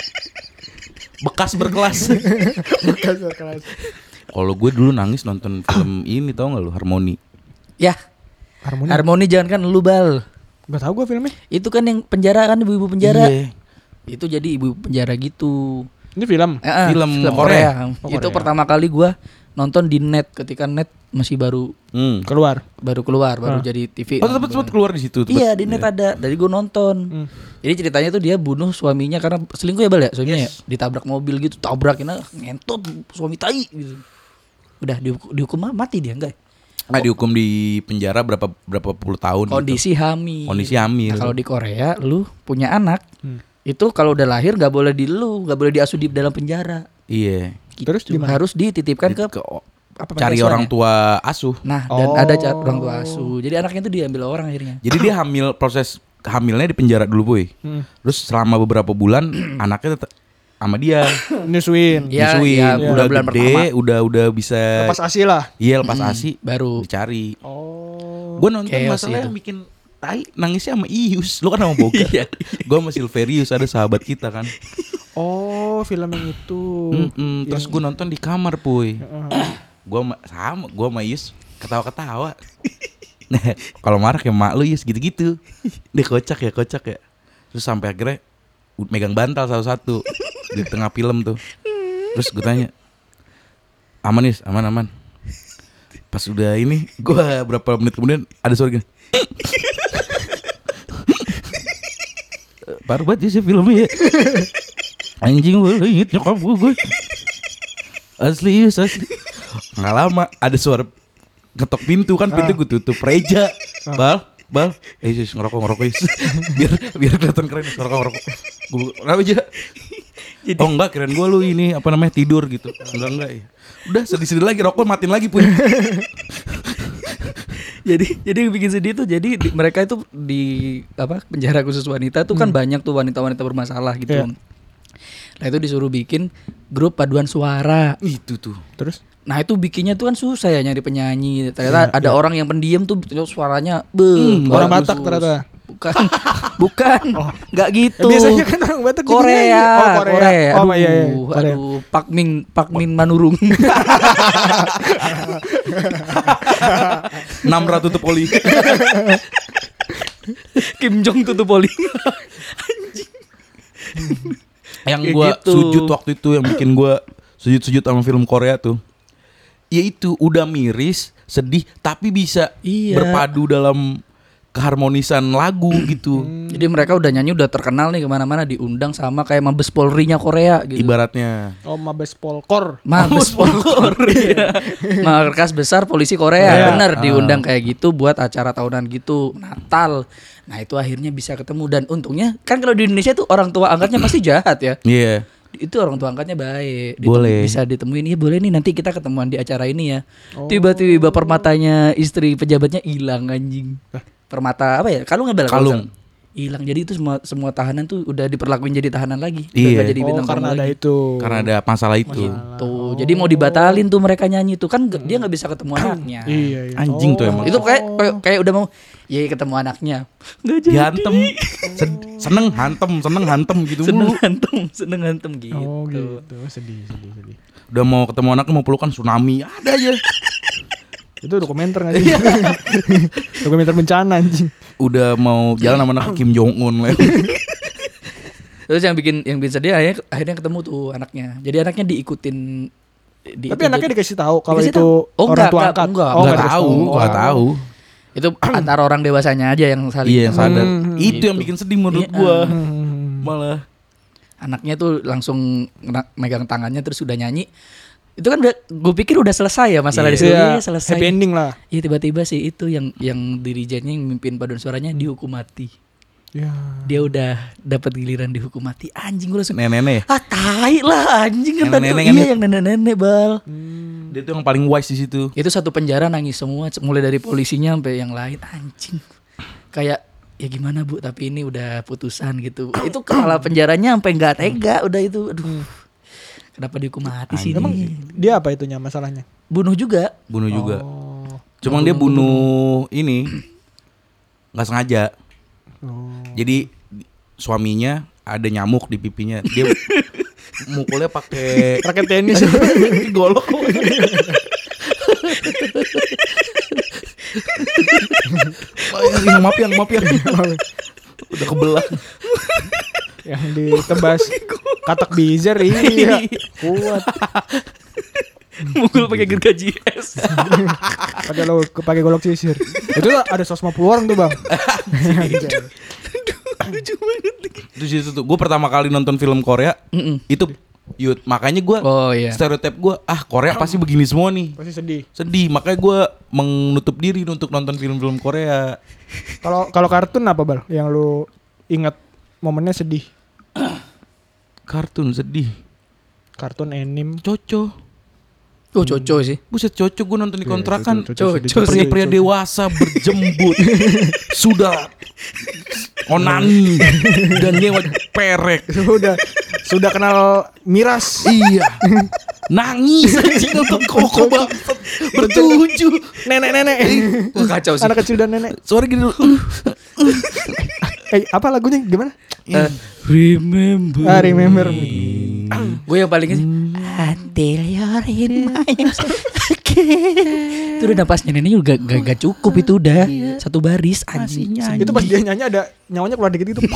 Bekas berkelas. Kalau gue dulu nangis nonton film ini, tau nggak lu, Harmoni. Ya, Harmoni jangan kan lu Bal. Gak tau gua filmnya. Itu kan yang penjara kan, ibu-ibu penjara. Iya. Itu jadi ibu penjara gitu. Ini film. Film Korea. Korea. Itu Korea. pertama kali gua nonton di net ketika net masih baru Keluar. keluar, baru jadi TV. Oh, tetap keluar di situ. Iya, di net ada. Dari gue nonton. Jadi ceritanya tuh dia bunuh suaminya karena selingkuh ya Bal ya, suaminya ya. Ditabrak mobil gitu, tabrakin ngentot suami tai gitu. Udah dihukum mati dia enggak? Nggak dihukum di penjara berapa puluh tahun. Kondisi hamil. Kondisi hamil. Nah, kalau di Korea lu punya anak, itu kalau udah lahir nggak boleh nggak boleh diasuh di dalam penjara. Iya. Terus Gitu. gimana? Harus dititipkan ke Cari panti orang asuhan ya? tua asuh. Nah, dan ada orang tua asuh. Jadi anaknya itu diambil orang akhirnya. Jadi dia hamil, proses hamilnya di penjara dulu boy. Terus selama beberapa bulan anaknya tetap sama dia. Nyusuin. Ya, Disuin, ya, udah bulan gede, pertama. udah bisa. Lepas ASI lah. Iya lepas ASI Baru dicari. Oh. Gue nonton Chaos masalahnya itu. bikin tai nangisnya sama Ius. Lu kan sama Boga. Iya. Gue sama Silverius ada sahabat kita kan. Oh, film yang itu. Terus gue nonton di kamar puy. Gue sama Ius ketawa-ketawa. Nah, kalau marah kayak mak lu Ius gitu-gitu. Dia kocak ya. Terus sampai akhirnya megang bantal satu-satu di tengah film tuh. Terus gue tanya, aman Ius, aman. Pas udah ini, gue berapa menit kemudian ada suara gini. Parah banget sih filmnya ya. Anjing gue inget nyokap gue. Asli. Nggak lama ada suara ketok pintu kan, pintu gue tutup. Reja, Bal, Yesus ngerokok Yesus. biar kelihatan keren ngerokok. Gue kenapa aja? Oh enggak, keren gue lu ini apa namanya tidur gitu. Enggak ya. Udah sedih lagi rokok matiin lagi pun. Jadi yang bikin sedih tuh jadi mereka itu di penjara khusus wanita tuh kan banyak tuh wanita-wanita bermasalah gitu. Iya. Nah itu disuruh bikin grup paduan suara. Itu tuh. Terus? Nah itu bikinnya tuh kan susah ya nyari penyanyi. Ternyata ada orang yang pendiam tuh suaranya Orang bagus. Batak ternyata. Bukan, nggak gitu. Biasanya kan orang Batak gitu Korea. nyanyi. Oh, Korea. Oh, Aduh, iya. Korea. aduh, Pak Min Manurung. 600 tuh poli. Kim Jong tutup poli. Yang Kayak gue gitu. sujud waktu itu, yang bikin gue sujud sama film Korea tuh, yaitu udah miris, sedih, tapi bisa Iya. berpadu dalam keharmonisan lagu gitu. Jadi mereka udah nyanyi udah terkenal nih kemana-mana diundang sama kayak Mabes Polri-nya Korea gitu. Ibaratnya. Oh, Mabes Polkor. Mabes Polri. Markas Besar Polisi Korea. Iya. Bener diundang kayak gitu buat acara tahunan gitu, Natal. Nah, itu akhirnya bisa ketemu dan untungnya kan kalau di Indonesia tuh orang tua angkatnya pasti jahat ya. Iya. Itu orang tua angkatnya baik. Boleh. Bisa ditemuin. Ya boleh nih nanti kita ketemuan di acara ini ya. Tiba-tiba permatanya istri pejabatnya hilang anjing. Permata apa ya? Kalung nggak Kalung. hilang. Jadi itu semua tahanan tuh udah diperlakuin jadi tahanan lagi. Iya. Udah nggak jadi bintang Karena tamu ada lagi. itu. Karena ada masalah itu. Tuh, jadi mau dibatalin tuh mereka nyanyi tuh kan dia nggak bisa ketemu anaknya. Iya. Anjing tuh emang. Itu kayak udah mau ya ketemu anaknya. Nggak jadi. Dihantem. Seneng hantem gitu mulu. Seneng hantem gitu. Oh gitu. Sedih. Udah mau ketemu anaknya, mau pelukan, tsunami ada aja. Itu dokumenter nggak sih? Dokumenter bencana anjing. Udah mau jalan sama anak Kim Jong Un. Terus yang bikin sedih akhirnya ketemu tuh anaknya. Jadi anaknya diikutin. Tapi anaknya dikasih tahu kalau Dikasih itu tahu. Oh, orang enggak, tua enggak, angkat. enggak. Oh, Nggak dikasih tahu, nggak tahu. Itu antara orang dewasanya aja yang saling. Iya yang sadar. Itu Gitu. yang bikin sedih menurut Iya. gua. Malah. Anaknya tuh langsung megang tangannya terus udah nyanyi. Itu kan gue pikir udah selesai ya masalah di sini. Iya, Selesai. happy ending lah. Iya tiba-tiba sih itu yang dirijennya yang mimpin paduan suaranya dihukum mati. Ya. Dia udah dapat giliran dihukum mati. Anjing gue langsung Nenek-nenek. ah tai lah anjing kan tadi. Nenek-nenek kan Iya ya? yang nenek-nenek bal. Dia tuh yang paling wise di situ. Itu satu penjara nangis semua mulai dari polisinya sampai yang lain anjing. Kayak ya gimana Bu tapi ini udah putusan gitu. Itu kepala penjaranya sampai nggak tega udah itu. Aduh. Kenapa dihukum mati sih Emang ini? dia apa itunya masalahnya? Bunuh juga. Bunuh juga. Oh. Cuma dia bunuh ini nggak sengaja. Oh. Jadi suaminya ada nyamuk di pipinya. Dia mukulnya pakai Raket tenis. golok. Maaf yang udah kebelah. Yang ditebas katak bizer iya. Kuat. Mukul pakai gergaji es. Pakai golok sisir. Itu ada 150 orang tuh, Bang. Lucu banget. Terus itu tuh gue pertama kali nonton film Korea itu Yud, makanya gue Oh iya. stereotip gue Korea pasti begini semua nih. Pasti sedih. Sedih, makanya gue menutup diri untuk nonton film-film Korea. Kalau kartun apa, Bal? Yang lu ingat momennya sedih? Kartun sedih. Kartun anime. Coco. Oh Coco sih. Buset, Coco gue nonton di kontrakan. Coco Pria-pria dewasa berjembut sudah onani dan nyewa perek. Sudah kenal miras. Iya. Nangis anjing nonton Koko bangsat. Bertujuh. Nenek-nenek. Wah, kacau sih. Anak kecil dan nenek. Suara gini dulu. Apa lagunya gimana? Remember. Remember. Gue yang paling until you're in my arms again. Itu udah napasnya nenek juga gak cukup itu udah satu baris anjing. Itu pas dia nyanyi ada nyawanya keluar dikit itu.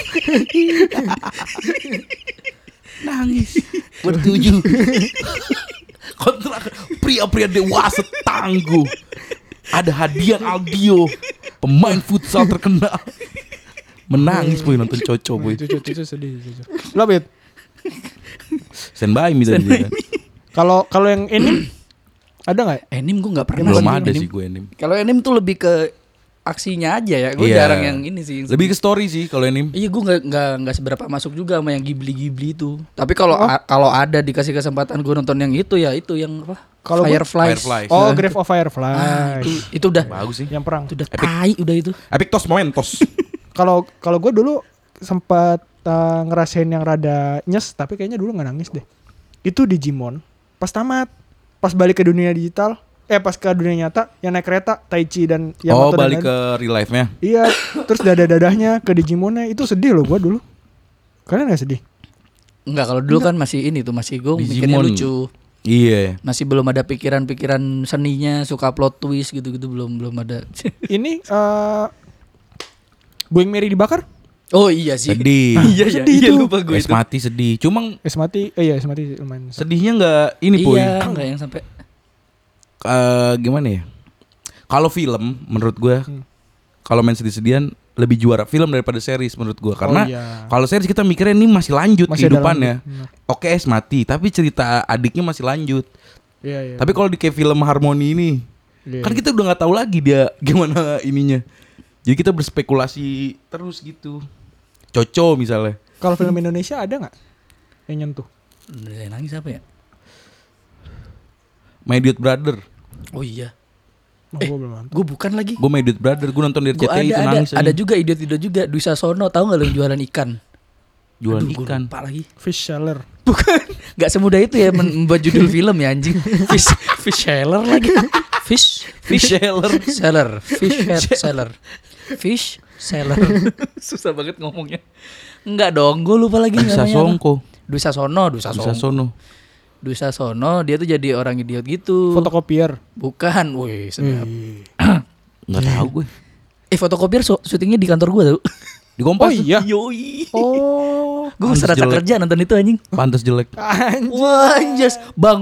Nangis. Bertujuh. Kontrak pria-pria dewasa tangguh. Ada Hadian Aldio, pemain futsal terkenal. Menangis boy nonton Coco boy. Itu sedih. Lo Bet. Stand by me tadi. Kalau yang ini ada nggak? Anime gue nggak pernah. Belum sih ada anime. sih gue anime. Kalau anime tuh lebih ke aksinya aja ya. Gue Iya. jarang yang ini sih. Lebih ke story sih kalau anime. Iya gue nggak seberapa masuk juga sama yang Ghibli itu. Tapi kalau kalau ada dikasih kesempatan gue nonton yang itu ya itu yang apa? Kalau gue- Fireflies. Fireflies. Oh, Grave of Firefly. Itu udah Bagus sih. Yang perang. itu udah tai udah itu. Epic Tos Momentos. Kalau gue dulu sempat ngerasain yang rada nyes, tapi kayaknya dulu nggak nangis deh. Itu Digimon. Pas tamat, pas balik ke dunia digital, pas ke dunia nyata, yang naik kereta, Taichi dan Oh, Yamato dan balik lain. ke real life-nya. Iya, terus dada-dadahnya ke Digimonnya itu sedih loh gue dulu. Kalian nggak sedih? Enggak, kalau dulu kan masih ini tuh masih gue mikirnya Digimon. lucu. Iya. Masih belum ada pikiran-pikiran seninya, suka plot twist gitu-gitu belum ada. Ini Going Merry dibakar? Oh iya sih. Sedih. Iya Sedih iya tuh. lupa gue Es itu. mati sedih. Cuma Es mati lumayan. sedihnya nggak ini Puy. Iya, enggak yang sampai Gimana ya? Kalau film menurut gue kalau main sedih-sedihan lebih juara film daripada series menurut gue karena iya. kalau series kita mikirnya ini masih lanjut Masih ada kehidupannya. lanjut, Oke, es mati, tapi cerita adiknya masih lanjut. Iya. Tapi kalau di kayak film Harmoni ini Iya. kan kita udah nggak tahu lagi dia gimana ininya. Jadi kita berspekulasi terus gitu. Coco misalnya. Kalau film Indonesia ada nggak yang nyentuh? Udah nangis apa ya? My Idiot Brother. Oh iya. Oh, gue belum nonton. Gue bukan lagi. Gue My Idiot Brother, gue nonton di Gue RCTI itu ada nangis. ada juga idiot juga Dwi Sasono, tahu nggak lo yang jualan ikan? Jualan Aduh, gua ikan. lupa lagi. Fish Seller. Bukan, nggak semudah itu ya membuat judul film ya anjing. Fish seller lagi. Fish Seller. seller. Fish seller. Susah banget ngomongnya. Enggak dong, gue lupa lagi Bisa namanya. Songko. Dwi Sasono. Bisa Sono. Dwi Sasono dia tuh jadi orang idiot gitu. Fotokopier. Bukan, woi sedap. Nggak tahu gue. Fotokopier syutingnya di kantor gue tau. Di Kompas. Oh iya. Yoi. Oh. Gue Pantes serasa jelek. kerja nonton itu anjing. Pantes jelek. Wah anjas. Bang.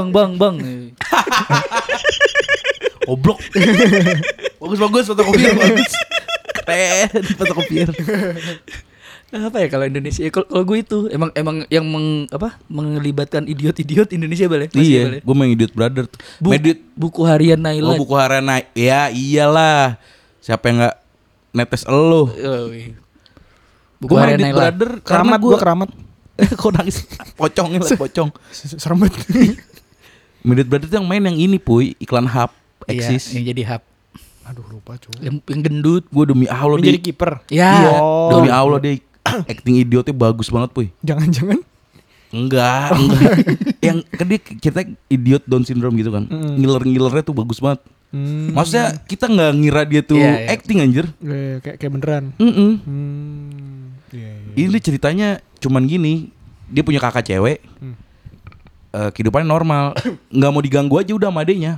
Oblok. Bagus fotokopier bagus. Keren fotokopier. Apa ya kalau Indonesia? Kalau gue itu emang yang mengelibatkan idiot Indonesia balik. Iya, gue main Idiot Brother. Buku harian Naila. Oh, buku harian naik. Ya iyalah. Siapa yang nggak netes elo? Buku Gue main harian Idiot Naila. Brother Keramat, gue keramat. Kok nangis? Pocongnya lah, pocong. Serem banget. Idiot Brother tuh yang main yang ini Puy, iklan hub Iya, eksis. yang jadi hub. Aduh lupa cuy. Yang gendut. Gue demi Allah Menjadi dia. kiper. Ya. Oh. Demi Allah dia acting idiotnya bagus banget Puy. Jangan-jangan. Enggak. Yang kan dia kita idiot Down syndrome gitu kan. Ngiler-ngilernya tuh bagus banget. Maksudnya kita nggak ngira dia tuh Iya, iya. acting anjir. Kayak beneran. Iya. Ini ceritanya cuman gini. Dia punya kakak cewek. Kehidupannya normal. Nggak mau diganggu aja udah sama adenya.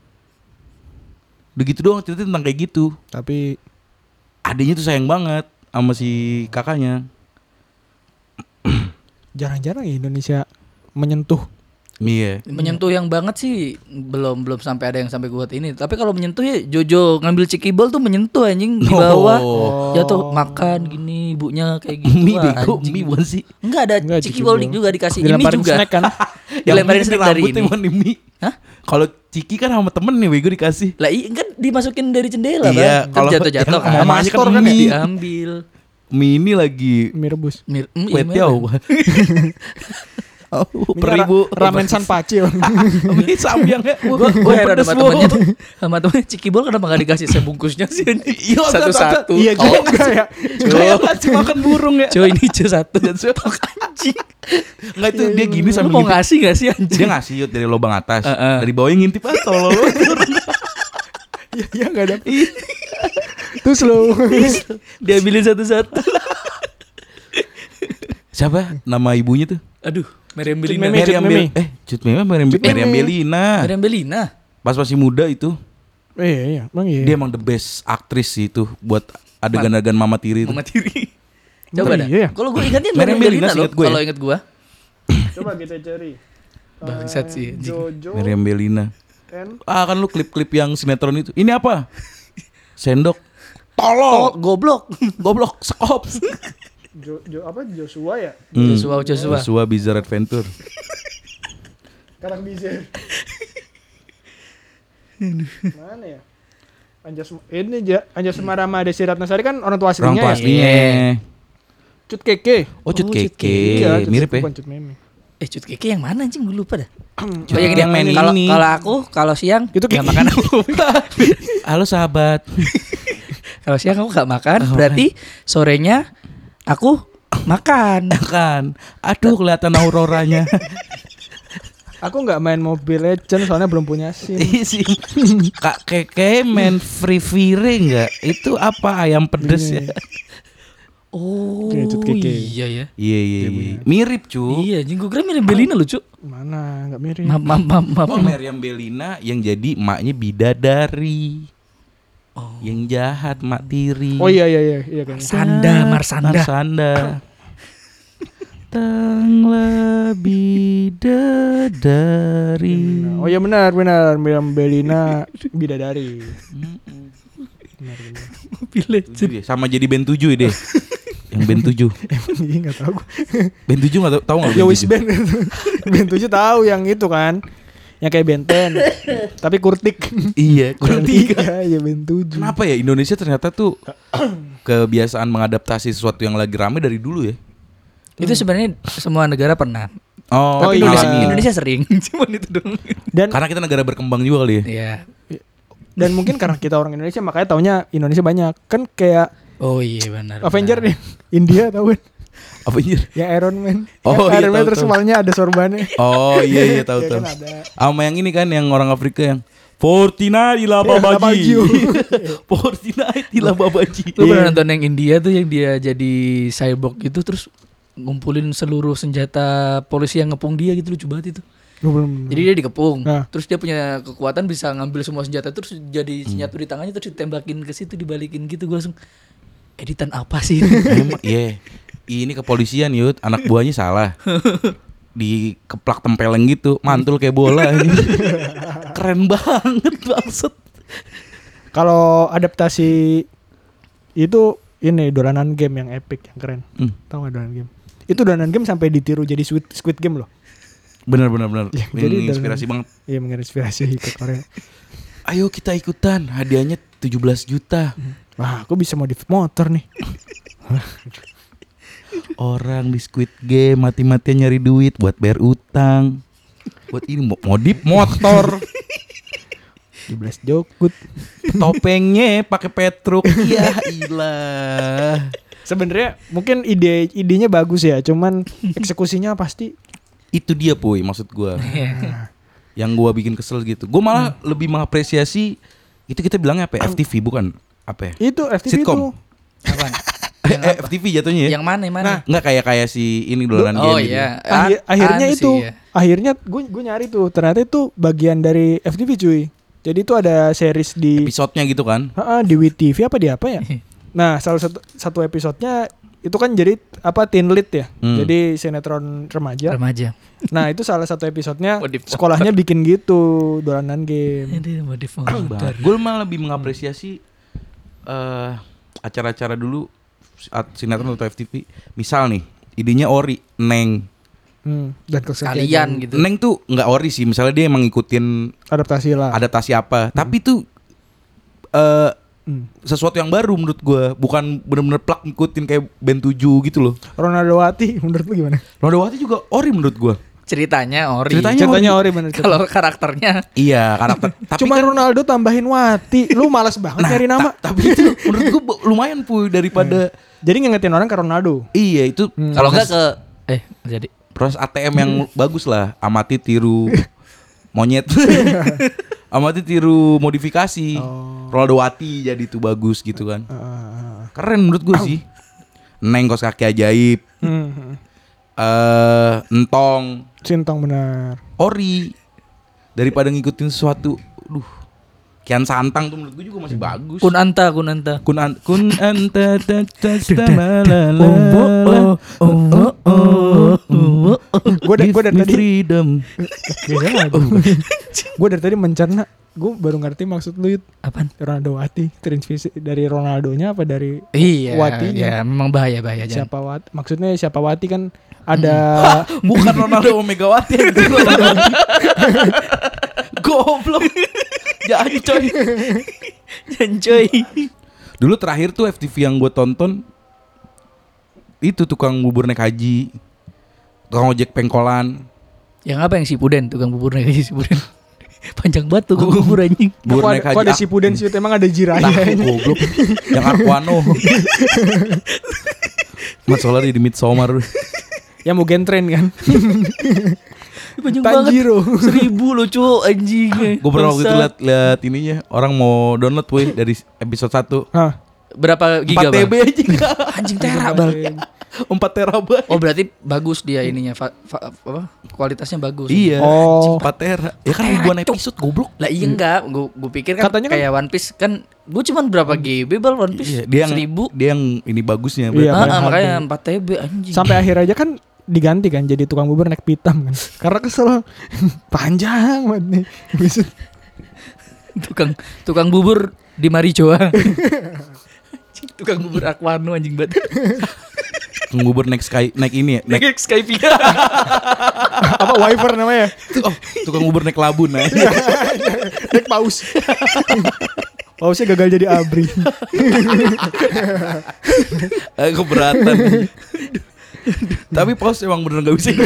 Udah gitu doang ceritanya tentang kayak gitu. Tapi Adenya tuh sayang banget sama si kakaknya. jarang-jarang ya Indonesia menyentuh. Iya. Menyentuh yang banget sih belum sampai ada yang sampai buat ini. Tapi kalau menyentuh ya Jojo ngambil cikibol tuh menyentuh anjing di bawah. Oh. Jatuh makan gini, ibunya kayak gitu. Mie Wah, bego, anjing. mie bukan sih? Enggak ada Enggak, cikibol cikibol. juga dikasih ini Dilemparin juga. snack kan. Dilemparin snack dari ini. Mie. Hah? Kalau Ciki kan sama temen nih Wego dikasih. Lah kan dimasukin dari jendela Iya, kan. kalau Jatuh-jatuh yang kan. sama mamanya kan kan mie. Diambil. Mie ini lagi Mie rebus. wet jauh. Oh, per ribu Ramen Sanpachi. Mie samyang ya. Gue heran sama temennya tuh. Sama temennya cikibol kenapa gak dikasih sebungkusnya sih anjing? Iya, Satu-satu. Iya juga ya. Kayak ngasih makan burung ya. Coy ini cuy satu. anjing. Enggak itu dia gini Lu sambil mau ngintip. ngasih gak sih anjing? Dia ngasih Yud dari lubang atas. Heeh. Dari bawahnya ngintip tolol. Iya enggak ada. Terus lo Dia ambilin satu-satu. Siapa nama ibunya tuh? Aduh, Meriam Belina. Meme. Cut Meme. Cut Meme Meriam Belina. Meriam Belina. Pas masih muda itu. iya, emang iya. Dia emang the best aktris sih itu buat adegan-adegan mama tiri itu. Mama tiri. Coba dah. Iya. Kalau gue ingatnya Meriam Meriam Belina Belina loh. seingat gue ya. Kalau inget gue. Coba kita cari. Bangsat sih, anjing. Jojo Meriam Belina. and Kan lu klip-klip yang sinetron itu. Ini apa? Sendok. Oh, Tolol. goblok. Sekop. Joshua ya? Joshua. Joshua Bizarre Adventure. Karang Bizer. Mana ya? Anjas Marama Desi Ratnasari kan orang tua Orang aslinya tua ya. aslinya. Cut Keke. Oh, Cut Oh, Cut Keke. Iya, Cut Mirip Keke, ya. bukan Cut Meme. Cut Keke yang mana anjing? Gue lupa dah. Cut Keke yang main Kalau ini. kalau siang Itu nggak Keke. makan aku. Halo sahabat. Kalau siang aku nggak makan, berarti sorenya aku makan. Kan. Aduh kelihatan auroranya. Aku nggak main Mobile Legends soalnya belum punya SIM. Isi. Kak Keke main Free Fire enggak? Itu apa ayam pedes ya? Oh, Iya, Cut Keke. iya ya. Iya. Mirip cu. Iya, anjing gue kira Meriam Belina lucu. Mana? Nggak mirip. Maaf. Oh, Meriam Belina yang jadi emaknya bidadari. Yang jahat mak tiri. Oh iya kan. Marsanda. Marsanda. Tanglah bidadari. Oh iya benar Miriam Belina bidadari. Benar. Itu dia, sama jadi band 7 deh. Yang band 7. Iya enggak tahu. Band 7 enggak tahu enggak Ya band wis 7? band. Band 7 tahu yang itu kan. Yang kayak Benten. Tapi kurtik. Iya, kurang tiga. Iya band 7. Kenapa ya Indonesia ternyata tuh kebiasaan mengadaptasi sesuatu yang lagi rame dari dulu ya? Itu sebenarnya semua negara pernah. Oh, Tapi iya. Indonesia sering. Cuman itu dong. Dan karena kita negara berkembang juga kali ya. Iya. dan mungkin karena kita orang Indonesia makanya taunya Indonesia banyak. Kan kayak Oh iya benar. Avenger nih. India tahu kan? Apa anjir? Yang Iron Man. Oh, Yang iya, Iron Man tahu, terus tahu. kepalanya ada sorbannya. Oh iya Ya tahu. kan ada. Sama yang ini kan yang orang Afrika yang Fortnite ila Babaji. babaji. Fortnite ila babaji. Lu pernah nonton yang India tuh yang dia jadi cyborg gitu terus ngumpulin seluruh senjata polisi yang ngepung dia gitu lucu banget itu. Gua belum. Jadi dia dikepung, Nah. terus dia punya kekuatan bisa ngambil semua senjata terus jadi senjata di tangannya terus ditembakin ke situ dibalikin gitu gue langsung editan apa sih? Emang iya. Ini kepolisian Yud, anak buahnya salah. Dikeplak tempeleng gitu, mantul kayak bola ini. Keren banget maksud. Kalau adaptasi itu ini dolanan game yang epic yang keren. Tahu nggak dolanan game? Itu dolanan game sampai ditiru jadi Squid Game loh. Benar. Ya, jadi Inspirasi banget. Iya menginspirasi ke Korea. Ayo kita ikutan, hadiahnya 17 juta. Wah, aku bisa modif motor nih. Orang di Squid Game mati-matian nyari duit buat bayar utang. Buat ini modif motor. 17 jokut. Topengnya pakai petruk. Ya ilah. Sebenarnya mungkin idenya bagus ya, cuman eksekusinya pasti Itu dia Puy maksud gua. Yang gua bikin kesel gitu. Gua malah lebih mengapresiasi itu kita bilangnya apa ya? FTV bukan apa ya? itu FTV Sitkom. itu. Apaan? FTV jatuhnya ya? Yang mana? Nah, Enggak kayak si ini dolanan Oh game gitu. iya. Akhirnya Anu itu, sih, ya. akhirnya gue nyari tuh, ternyata itu bagian dari FTV cuy. Jadi itu ada series di Episodenya gitu kan. di WTV apa di apa ya? Nah, salah satu episodenya itu kan jadi apa teen lead ya. Jadi sinetron remaja. Remaja. Nah, itu salah satu episodenya Modif motor. sekolahnya bikin gitu, dolanan game. Aduh, modif motor. Gue malah lebih mengapresiasi acara-acara dulu sinetron atau FTV. Misal nih, idenya ori, Neng. Dan kesetiaan Kalian gitu. Neng tuh nggak ori sih, misalnya dia emang ngikutin adaptasi lah. adaptasi apa, tapi tuh sesuatu yang baru menurut gue, bukan bener-bener plak ngikutin kayak band 7 gitu loh. Ronaldo Wati menurut lu gimana? Ronaldowati juga ori menurut gue. Ceritanya ori. Ceritanya ori bener. Kalau karakternya Iya karakter. Tapi Cuma kan, Ronaldo tambahin Wati. Lu malas banget nah, nyari nama. tapi itu menurut gue lumayan Puy daripada Jadi ngingetin orang ke Ronaldo. iya itu kalau enggak ke Jadi Proses ATM yang bagus lah. Amati tiru monyet. Amati tiru modifikasi. Ronaldo Wati jadi tuh bagus gitu kan. Keren menurut gue sih. Neng kos kaki ajaib. Entong. Sintong benar. Ori. Daripada ngikutin sesuatu. Kian Santang tuh menurut gue juga masih bagus. Kun anta Gue dari tadi freedom. gue dari tadi mencerna. Gue baru ngerti maksud lu Yud. apaan? Ronaldo Wati terinspirasi dari Ronaldonya apa dari Iya, Watinya? ya memang bahaya jangan. Siapa Wati? Maksudnya siapa Wati kan ada Bukan Ronaldo Megawati. Goblok. Jangan coy. Dulu terakhir tuh FTV yang gue tonton itu tukang bubur naik haji, tukang ojek pengkolan. Yang apa yang si Puden, tukang bubur naik haji si Puden. Panjang banget tukang bubur anjing. Bubur naik haji. kok ada si Puden sih emang ada jiraya. Goblok. Yang Arkwano. Mas Solar di Midsommar. Yang mau gentren kan. Panjang banget. Tanjiro. 1000 loh cu anjing. Gue pernah waktu itu lihat ininya, orang mau download weh dari episode 1. Hah. Berapa 4 giga TB bang? aja. Anjing tera bang. 4 terabyte. Oh berarti bagus dia ininya apa? Kualitasnya bagus. Iya. Oh. 4 tera. Ya kan ribuan episode goblok. Lah iya enggak, gue pikir kan Katanya kan- kayak One Piece kan gue cuman berapa GB bal One Piece? Iya, dia yang 1000. dia yang ini bagusnya. Iya, berarti. Bang. Makanya 4 TB anjing. Sampai akhir aja kan diganti kan jadi tukang bubur naik pitam kan. Karena kesel panjang banget nih. tukang bubur di Maricoa. Tukang bubur Aquano anjing banget. Tukang bubur naik ini ya. Naik Skype. Apa wiper namanya? Tukang bubur naik labun nah. Naik paus. Pausnya gagal jadi abri. Keberatan. Tapi paus emang bener gak bisa hidup.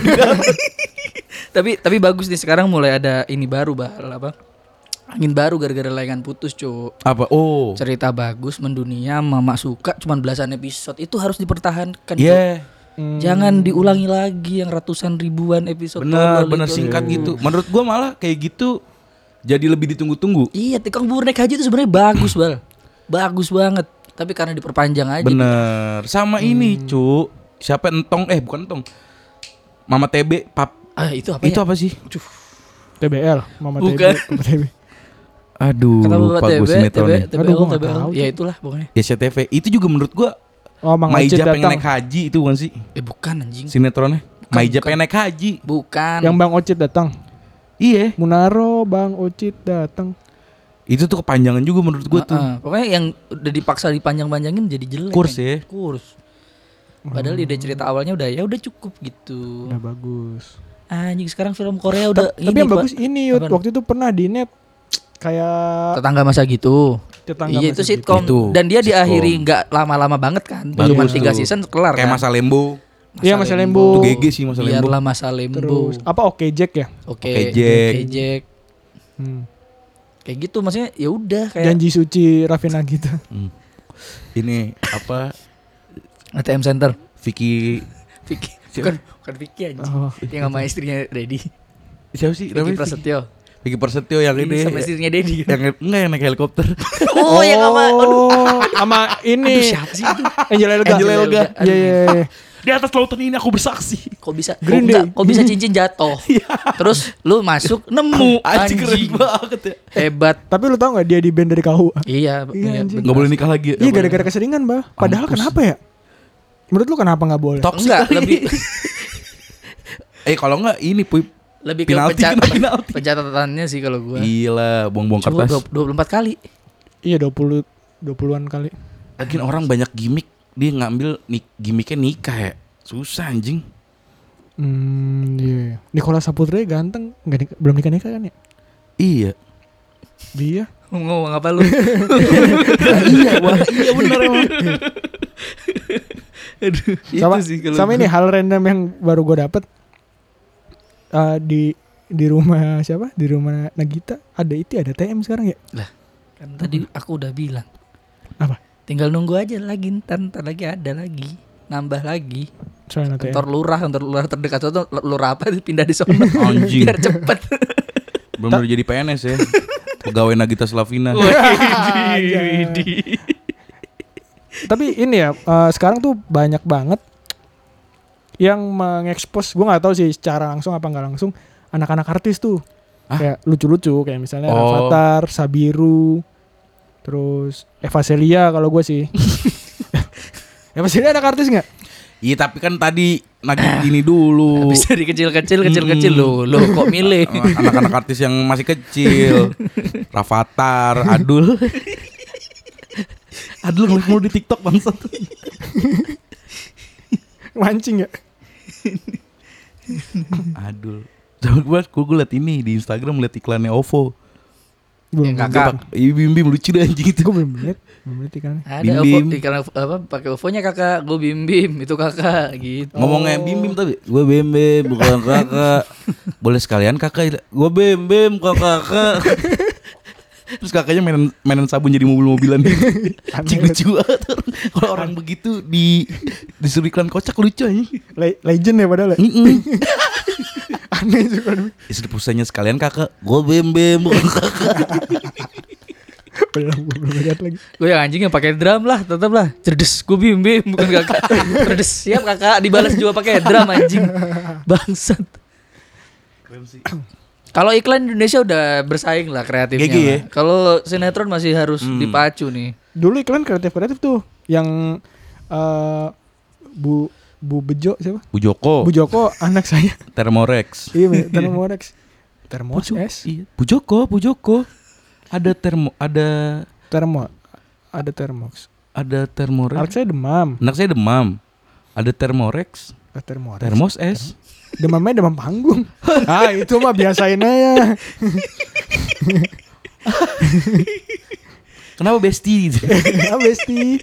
tapi bagus nih sekarang mulai ada ini baru apa? Angin baru gara-gara layangan putus, Cuk. Apa? Oh. Cerita bagus mendunia, Mama suka cuman belasan episode. Itu harus dipertahankan, Cuk. Iya. Jangan diulangi lagi yang ratusan ribuan episode. Bener singkat gitu. Menurut gua malah kayak gitu jadi lebih ditunggu-tunggu. Iya, tukang bubur naik haji itu sebenarnya bagus, Bal. Bagus banget. Tapi karena diperpanjang aja. Bener. Sama ini, Cuk. Siapa Entong? Bukan Entong. Mama TB, Pap. Itu apa Itu ya? apa sih? TBL, Mama Bukan. TB, Papa TB. Aduh, Kata lupa Bapak gue sinetronnya. Aduh, gua nggak TBL. tahu, Ya Cuk. itulah pokoknya. Ya CTV. Itu juga menurut gua Oh, Mang Ocit Maija pengen datang. naik haji itu bukan sih? Bukan anjing. Sinetronnya. Maija bukan. pengen naik haji. Bukan. Yang Bang Ocit datang. Iya. Munaro, Bang Ocit datang. Itu tuh kepanjangan juga menurut gua tuh. Pokoknya yang udah dipaksa dipanjang-panjangin jadi jelek. Kurs men. ya. Kurs. Padahal ide cerita awalnya udah cukup gitu. Udah bagus. Anjing sekarang film Korea udah Tapi yang Pak. bagus ini Yud, Apaan? waktu itu pernah di net kayak Tetangga masa gitu. tetangga Iya itu masa sitcom. Itu, Dan dia sitcom. diakhiri nggak lama-lama banget kan. Bagus Cuma tuh. 3 season kelar Kayak kan. Masa Lembo. Iya, Masa Lembo. Itu GG sih Masa Lembo. Biarlah Masa Lembo. Terus apa Oke Jack ya? Oke Oke, Jack. Jack. Kayak gitu maksudnya ya udah kayak Janji Suci Raffi Nagita. Ini apa? ATM Center. Vicky Vicky. Siapa? Bukan Vicky anjing. Oh. Yang sama istrinya Dedi. siapa sih? Vicky Namanya Prasetyo. Vicky Prasetyo yang ini. Sama istrinya Dedi. Yang enggak yang naik helikopter. Oh yang sama. Aduh. Sama ini. Aduh siapa sih itu? Angel Elga. Angel Elga. Iya iya. iya. Di atas lautan ini aku bersaksi. Kok bisa Green Day. kok bisa cincin jatuh. Terus lu masuk nemu Anjing keren anjing. banget ya. Hebat. Tapi lu tau gak dia di band dari KUA? Iya, anjing. Enggak boleh nikah lagi. Iya gara-gara keseringan bah. Padahal Mampus. kenapa ya? Menurut lu kenapa gak boleh? Toxic Enggak, kali. lebih Kalau enggak ini Puy. lebih ke Penalti, kena penalti. pencatatannya sih kalau gua. Gila, buang-buang Coba kertas. 24 kali. Iya 20-an kali. Lagian orang banyak gimmick, dia ngambil gimmicknya nikah ya. Susah anjing. Iya. Nicola Saputra ganteng, belum nikah kan ya? Iya. Dia. Ngomong apa lu? Iya, wah. Iya benar emang. Aduh, Sama, itu sih kalau sama gua. ini hal random yang baru gue dapet di rumah siapa? Di rumah Nagita ada TM sekarang ya? Kan tadi aku udah bilang. Apa? Tinggal nunggu aja lagi ntar lagi ada lagi. Nambah lagi. Soalnya ATM. kantor lurah terdekat tuh lurah apa pindah di sana Anjing. biar cepet. Belum jadi PNS ya. Pegawai Nagita Slavina. Tapi ini ya sekarang tuh banyak banget yang mengekspos, gue nggak tahu sih secara langsung apa nggak langsung, anak-anak artis tuh. Kayak lucu-lucu kayak misalnya Rafathar, Sabiru, terus Eva Celia kalau gue sih. Eva Celia anak artis nggak? Iya tapi kan tadi nagih gini dulu. Bisa di kecil lo kok milih. Anak-anak artis yang masih kecil. Rafathar, Adul. Adul ngelik mulu di TikTok bangsat. Mancing ya? Adul. Gue liat ini di Instagram, liat iklannya OVO. Yang kakak. Iya Bim lucu deh anjing itu. Gue belum liat ikannya. Ada Bim. OVO iklan apa pakai OVO-nya kakak, gue Bim itu kakak gitu. Ngomongnya Bim tapi gue Bim bukan kakak. Boleh sekalian kakak. Gue Bim kakak. Terus kakaknya mainan sabun jadi mobil-mobilan gitu. Anjing lucu banget. Kalau orang begitu disuruh iklan kocak lucu aja. Legend ya padahal ya? Aneh juga. Istri pusatnya sekalian kakak. Gue Bim bukan kakak. Belum lihat lagi. Gue yang anjing yang pakai drum lah, tetap lah. Cerdes, gue Bim bukan kakak. Cerdes, siap kakak, dibalas juga pakai drum anjing. Bangsat. Keren sih. Kalau iklan Indonesia udah bersaing lah kreatifnya. GG ya? Kalau sinetron masih harus dipacu nih. Dulu iklan kreatif tuh yang Bu Bejo siapa? Bu Joko. Bu Joko anak saya. Thermorex. Iya, Thermorex. Thermos S. Iya. Bu Joko. Ada Thermox. Ada Thermox. Ada Thermorex. Anak saya demam. Anak saya demam. Ada Thermorex. Thermos S. Demamnya demam panggung. Itu mah biasain aja. Kenapa Besti? Besti.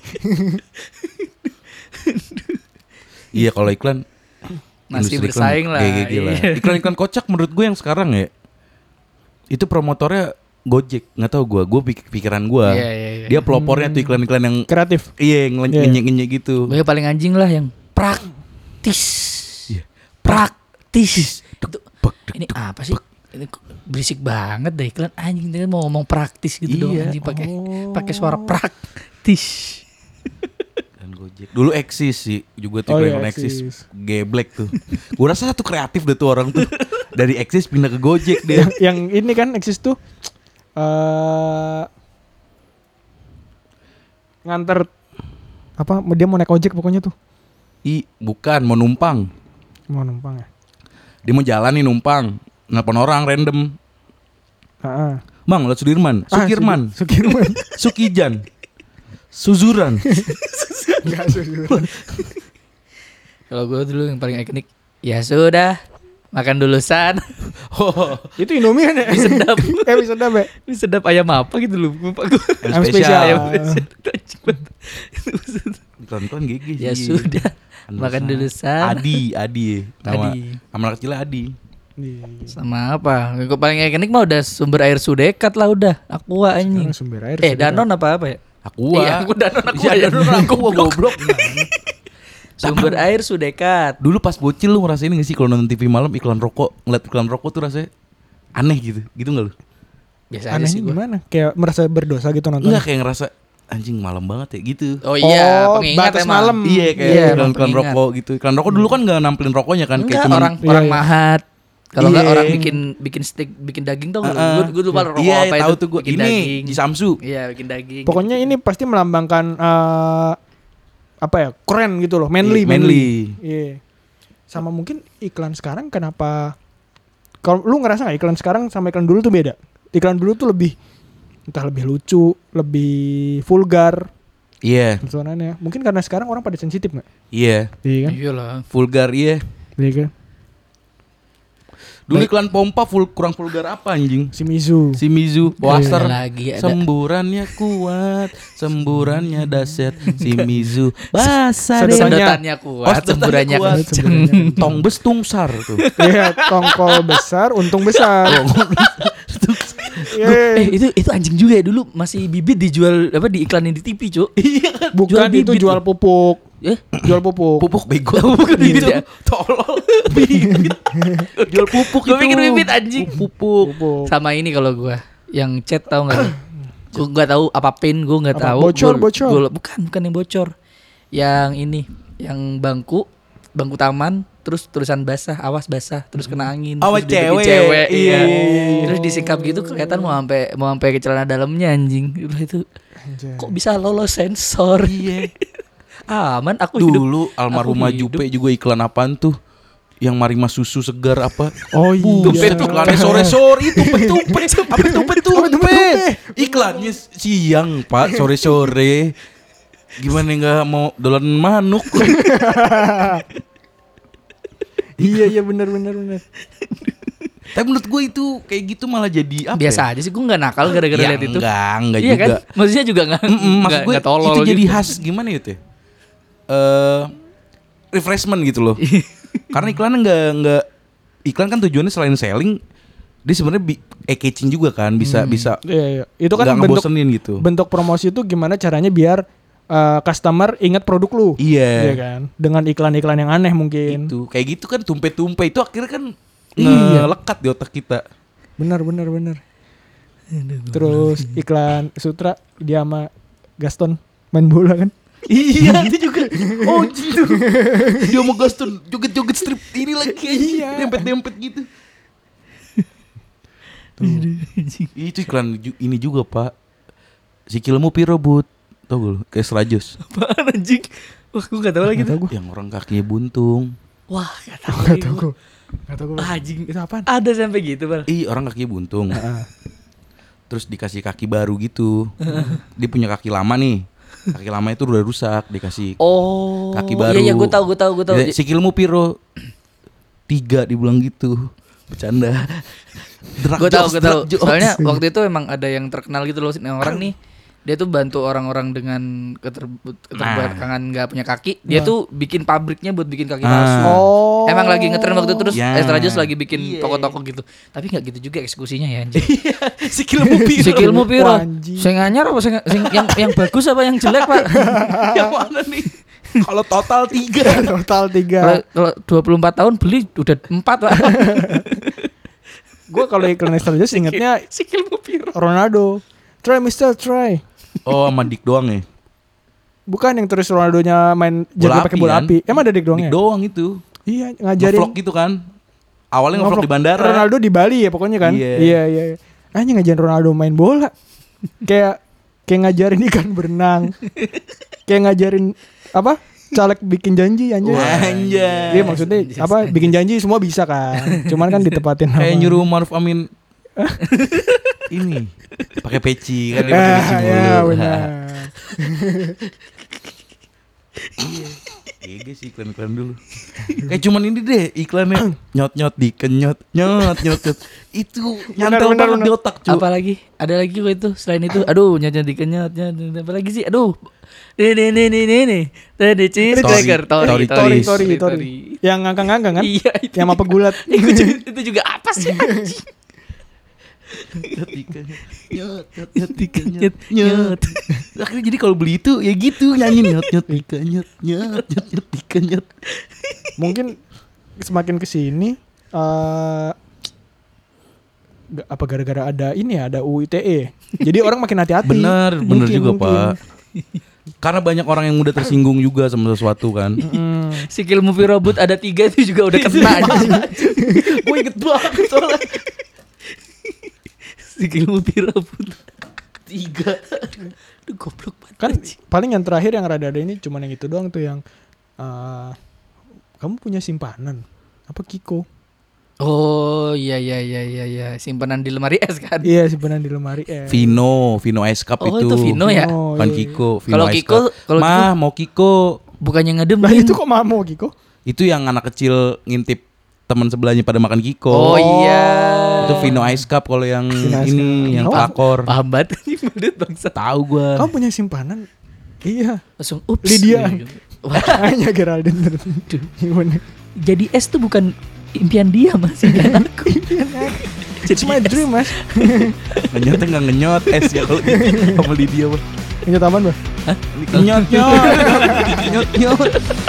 Iya kalau iklan Masih industri bersaing iklan, lah. GG lah. Iya. Iklan kocak menurut gue yang sekarang ya. Itu promotornya Gojek, nggak tahu gue pikiran gue. Iya. Dia pelopornya tuh iklan-iklan yang Kreatif. iya yang ngenyek gitu. Gue paling anjing lah yang praktis. Iya. Praktis. Ini apa sih? Ini berisik banget deh iklan anjing, dia mau ngomong praktis gitu dong Iya. anjing pakai suara praktis. Dan Gojek. Dulu Eksis sih juga tuh iklan Eksis. Geblek tuh. Gue rasa satu kreatif deh tuh orang tuh. Dari Eksis pindah ke Gojek dia. Yang ini kan Eksis tuh nganter apa? Dia mau naik ojek pokoknya tuh. Bukan mau numpang. Mau numpang ya? Dia mau jalan nih numpang. Nelpon orang random. Bang, lihat Sudirman, Sukirman, Sukijan, Suzuran. Enggak Suzuran. Kalau gue dulu yang paling ikonik, ya sudah makan dulu san. Oh, Itu Indomie kan ya? Mie sedap. Mie sedap ya? Mie sedap ayam apa gitu lupa gue. Ayam spesial. iklan-iklan GG sih. Ya sudah makan dulu san. Adi. Nama anak kecilnya Adi. Sama apa? Gue paling ikonik mah udah sumber air Sudekat lah udah. Aqua anjing. Sekarang sumber air. Danon apa ya? Aqua. Iya, aku Danon Aqua. Iya, Danon Aqua goblok. Sumber air Sudekat. Dulu pas bocil lu ngerasain gak sih kalau nonton TV malam iklan rokok, ngeliat iklan rokok tuh rasanya aneh gitu gak lu? Biasa aja Anehnya sih gue. gimana? Kayak merasa berdosa gitu nonton? Enggak, kayak ngerasa anjing malam banget ya gitu. Oh iya, Oh, pengingat batas emang. malam. Iya kayak Iya, iklan pengingat. rokok gitu. Iklan rokok dulu kan gak nampilin rokoknya kan, Enggak, kayak cuman orang Iya. mahat. Kalau enggak Iya. orang bikin steak, bikin daging tau gak? Gue lupa rokok iya, apa tahu itu. tuh gue. Bikin Ini daging. di Samsu. Iya, bikin daging. Pokoknya ini pasti melambangkan apa ya? Keren gitu loh, manly. Iya. Sama mungkin iklan sekarang kenapa? Kalau lu ngerasa nggak iklan sekarang sama iklan dulu tuh beda? Iklan dulu tuh lebih entah lebih lucu, lebih vulgar Iya, tontonannya. Mungkin karena sekarang orang pada sensitif nggak? iya. Iya kan? Iyalah. Vulgar iya. Iya kan? Dulu iklan pompa kurang vulgar apa anjing? Si Mizu. Si Mizu, Waster. Lagi ada. Semburannya kuat, semburannya dahsyat. Si Mizu basah deh. Sedotannya kuat, semburannya kuat. kenceng. Tong bes tungsar tuh. Iya, tongkol besar, untung besar. Iya. Itu anjing juga ya dulu masih bibit dijual apa diiklanin di TV, Cuk. Iya kan. Bukan jual itu bibit jual tuh. pupuk. Jual pupuk. Pupuk bego. Bukan bibit ya? Tolol. Bibit. Jual pupuk Gue itu. pikir bibit anjing. Pupuk. Sama ini kalau gue yang chat tahu nggak? Gue nggak tahu apa pin, gue nggak Apa? tahu. Bocor. Bukan yang bocor. Yang ini, yang bangku taman, terus tulisan basah, awas basah, terus kena angin. Awas terus dibikin cewek. iya. Iya. Terus disikap gitu kelihatan mau sampai ke celana dalamnya anjing. Itu Anjay. kok bisa lolos sensor? Iya. Aman aku hidup. Dulu almarhumah Aku hidup. Jupe juga iklan apaan tuh? Yang Marima susu segar apa? Oh iya. Tumpet iklannya sore-sore itu tumpet. Apa tumpet? Iklannya siang, Pak, sore-sore. Gimana nggak mau dolan manuk? Iya benar. Tapi menurut gue itu kayak gitu malah jadi apa? Biasa aja sih, gue nggak nakal gara-gara Ya, lihat itu. Enggak Iya juga. kan? Maksudnya juga nggak Maksud gue nggak tolol itu jadi gitu. khas gimana gitu ya? Refreshment gitu loh. Karena iklannya nggak iklan kan tujuannya selain selling, dia sebenarnya catching juga kan, bisa Iya. Itu kan nggak ngebosenin gitu. bentuk promosi itu gimana caranya biar customer ingat produk lu. Iya. Kan? Dengan iklan-iklan yang aneh mungkin. Itu kayak gitu kan tumpe-tumpe itu akhirnya kan Iya. ngelekat di otak kita. Benar. Terus iklan Sutra dia sama Gaston main bola kan. Iya itu juga. Oh gitu. Dia mau Gaston joget-joget strip ini lagi. Iya. Dempet-dempet gitu. Itu iklan ini juga Pak. Sikilmu piro but. Tau gak lu? Kayak Serajos. Apaan anjing? Wah, gue gak tahu lagi tuh. Yang orang kakinya buntung. Wah, gak tahu. Gak tau gue. Anjing. Itu apaan? Ada sampai gitu, Bal. Orang kakinya buntung. Terus dikasih kaki baru gitu. Dia punya kaki lama nih. Kaki lama itu udah rusak, dikasih Oh. kaki baru. Iya, gue tahu. Sikilmu piro? 3 dibilang gitu. Bercanda. Gue tahu. Soalnya waktu itu emang ada yang terkenal gitu loh, yang orang nih. Dia tuh bantu orang-orang dengan keterbelakangan nggak punya kaki. Dia tuh bikin pabriknya buat bikin kaki palsu. Oh. Emang lagi ngetren waktu itu terus Ya. Estrajos lagi bikin toko-toko gitu. Tapi nggak gitu juga eksekusinya ya anjing. Sikilmu piro? Sikilmu piro? Wah, anjing. Sing anyar apa yang bagus apa yang jelek, Pak? Yang mana nih? Kalau total 3. Total 3. Kalau 24 tahun beli udah 4, Pak. Gue kalau iklan Estrajos ingetnya Sikilmu piro? Ronaldo. Try Mister, try. Oh, sama Dik doang ya? Bukan yang terus Ronaldonya main jaga pakai bola kan? api. Emang ada Dik doang ya? Dik doang itu. Iya, ngajarin. Ngevlog gitu kan. Awalnya ngevlog di bandara. Ronaldo di Bali ya pokoknya kan. Iya. Iya. Hanya ngajarin Ronaldo main bola. kayak ngajarin ikan berenang. Kayak ngajarin apa? Caleg bikin janji anjir. Anjay. Iya maksudnya apa? Bikin janji semua bisa kan. Cuman kan ditepatin Kayak sama- nyuruh Maruf Amin ini pakai peci kan dia pakai peci mulu. Ya benar. Iya sih iklan-iklan dulu. Kayak cuman ini deh iklannya nyot-nyot dikenyot, nyot-nyot. Itu nyantel Benar, banget di otak, cu. Apalagi? Ada lagi kok itu selain itu. Aduh, nyanyi dikenyot. Apa lagi sih? Aduh. Nih. Tadi cheese Tori. cracker. Tori. Yang ngangkang-ngangkang kan? Iya, itu. Yang apa gulat? Itu juga apa sih anjing? Nyot dikenyot, nyot. Akhirnya jadi kalau beli itu ya gitu nyanyi nyot dikenyot, nyot dikenyot. Mungkin semakin kesini apa gara-gara ada ini ya, ada UU ITE. Jadi orang makin hati-hati. Bener Mungkin, juga mungkin. Pak. Karena banyak orang yang mudah tersinggung juga sama sesuatu kan. Sikil movie robot ada 3 itu juga udah kena anjing. Gue inget banget soalnya. Sikil movie robot 3. Aduh goblok banget. Kan paling yang terakhir yang rada ada ini cuman yang itu doang tuh yang kamu punya simpanan apa Kiko? Oh iya simpanan di lemari es kan. Iya simpanan di lemari Vino Ice Cup Oh, itu. itu Vino ya? Oh, Bukan iya. Kiko, Vino Kalau Ice Kiko, Cup. kalau Mah, mau Kiko. Bukannya Lah ngedemin. itu kok mamo Kiko? Itu yang anak kecil ngintip teman sebelahnya pada makan Kiko. Oh iya. Itu Vino Ice Cup kalau yang Vino Ice ini Cup. yang Oh. pelakor. Paham banget nih badut bangsa. Tahu gua. Kamu punya simpanan? Iya. Langsung ups. Lydia. Wah, Hanya Geraldine tertentu. Gimana? jadi es tuh bukan impian dia Mas, impian aku. It's my dream mas. Ngenyotnya nggak ngenyot es ya kalau sama Lydia mah. Ini taman bah. Nyot nyot. Nyut nyut.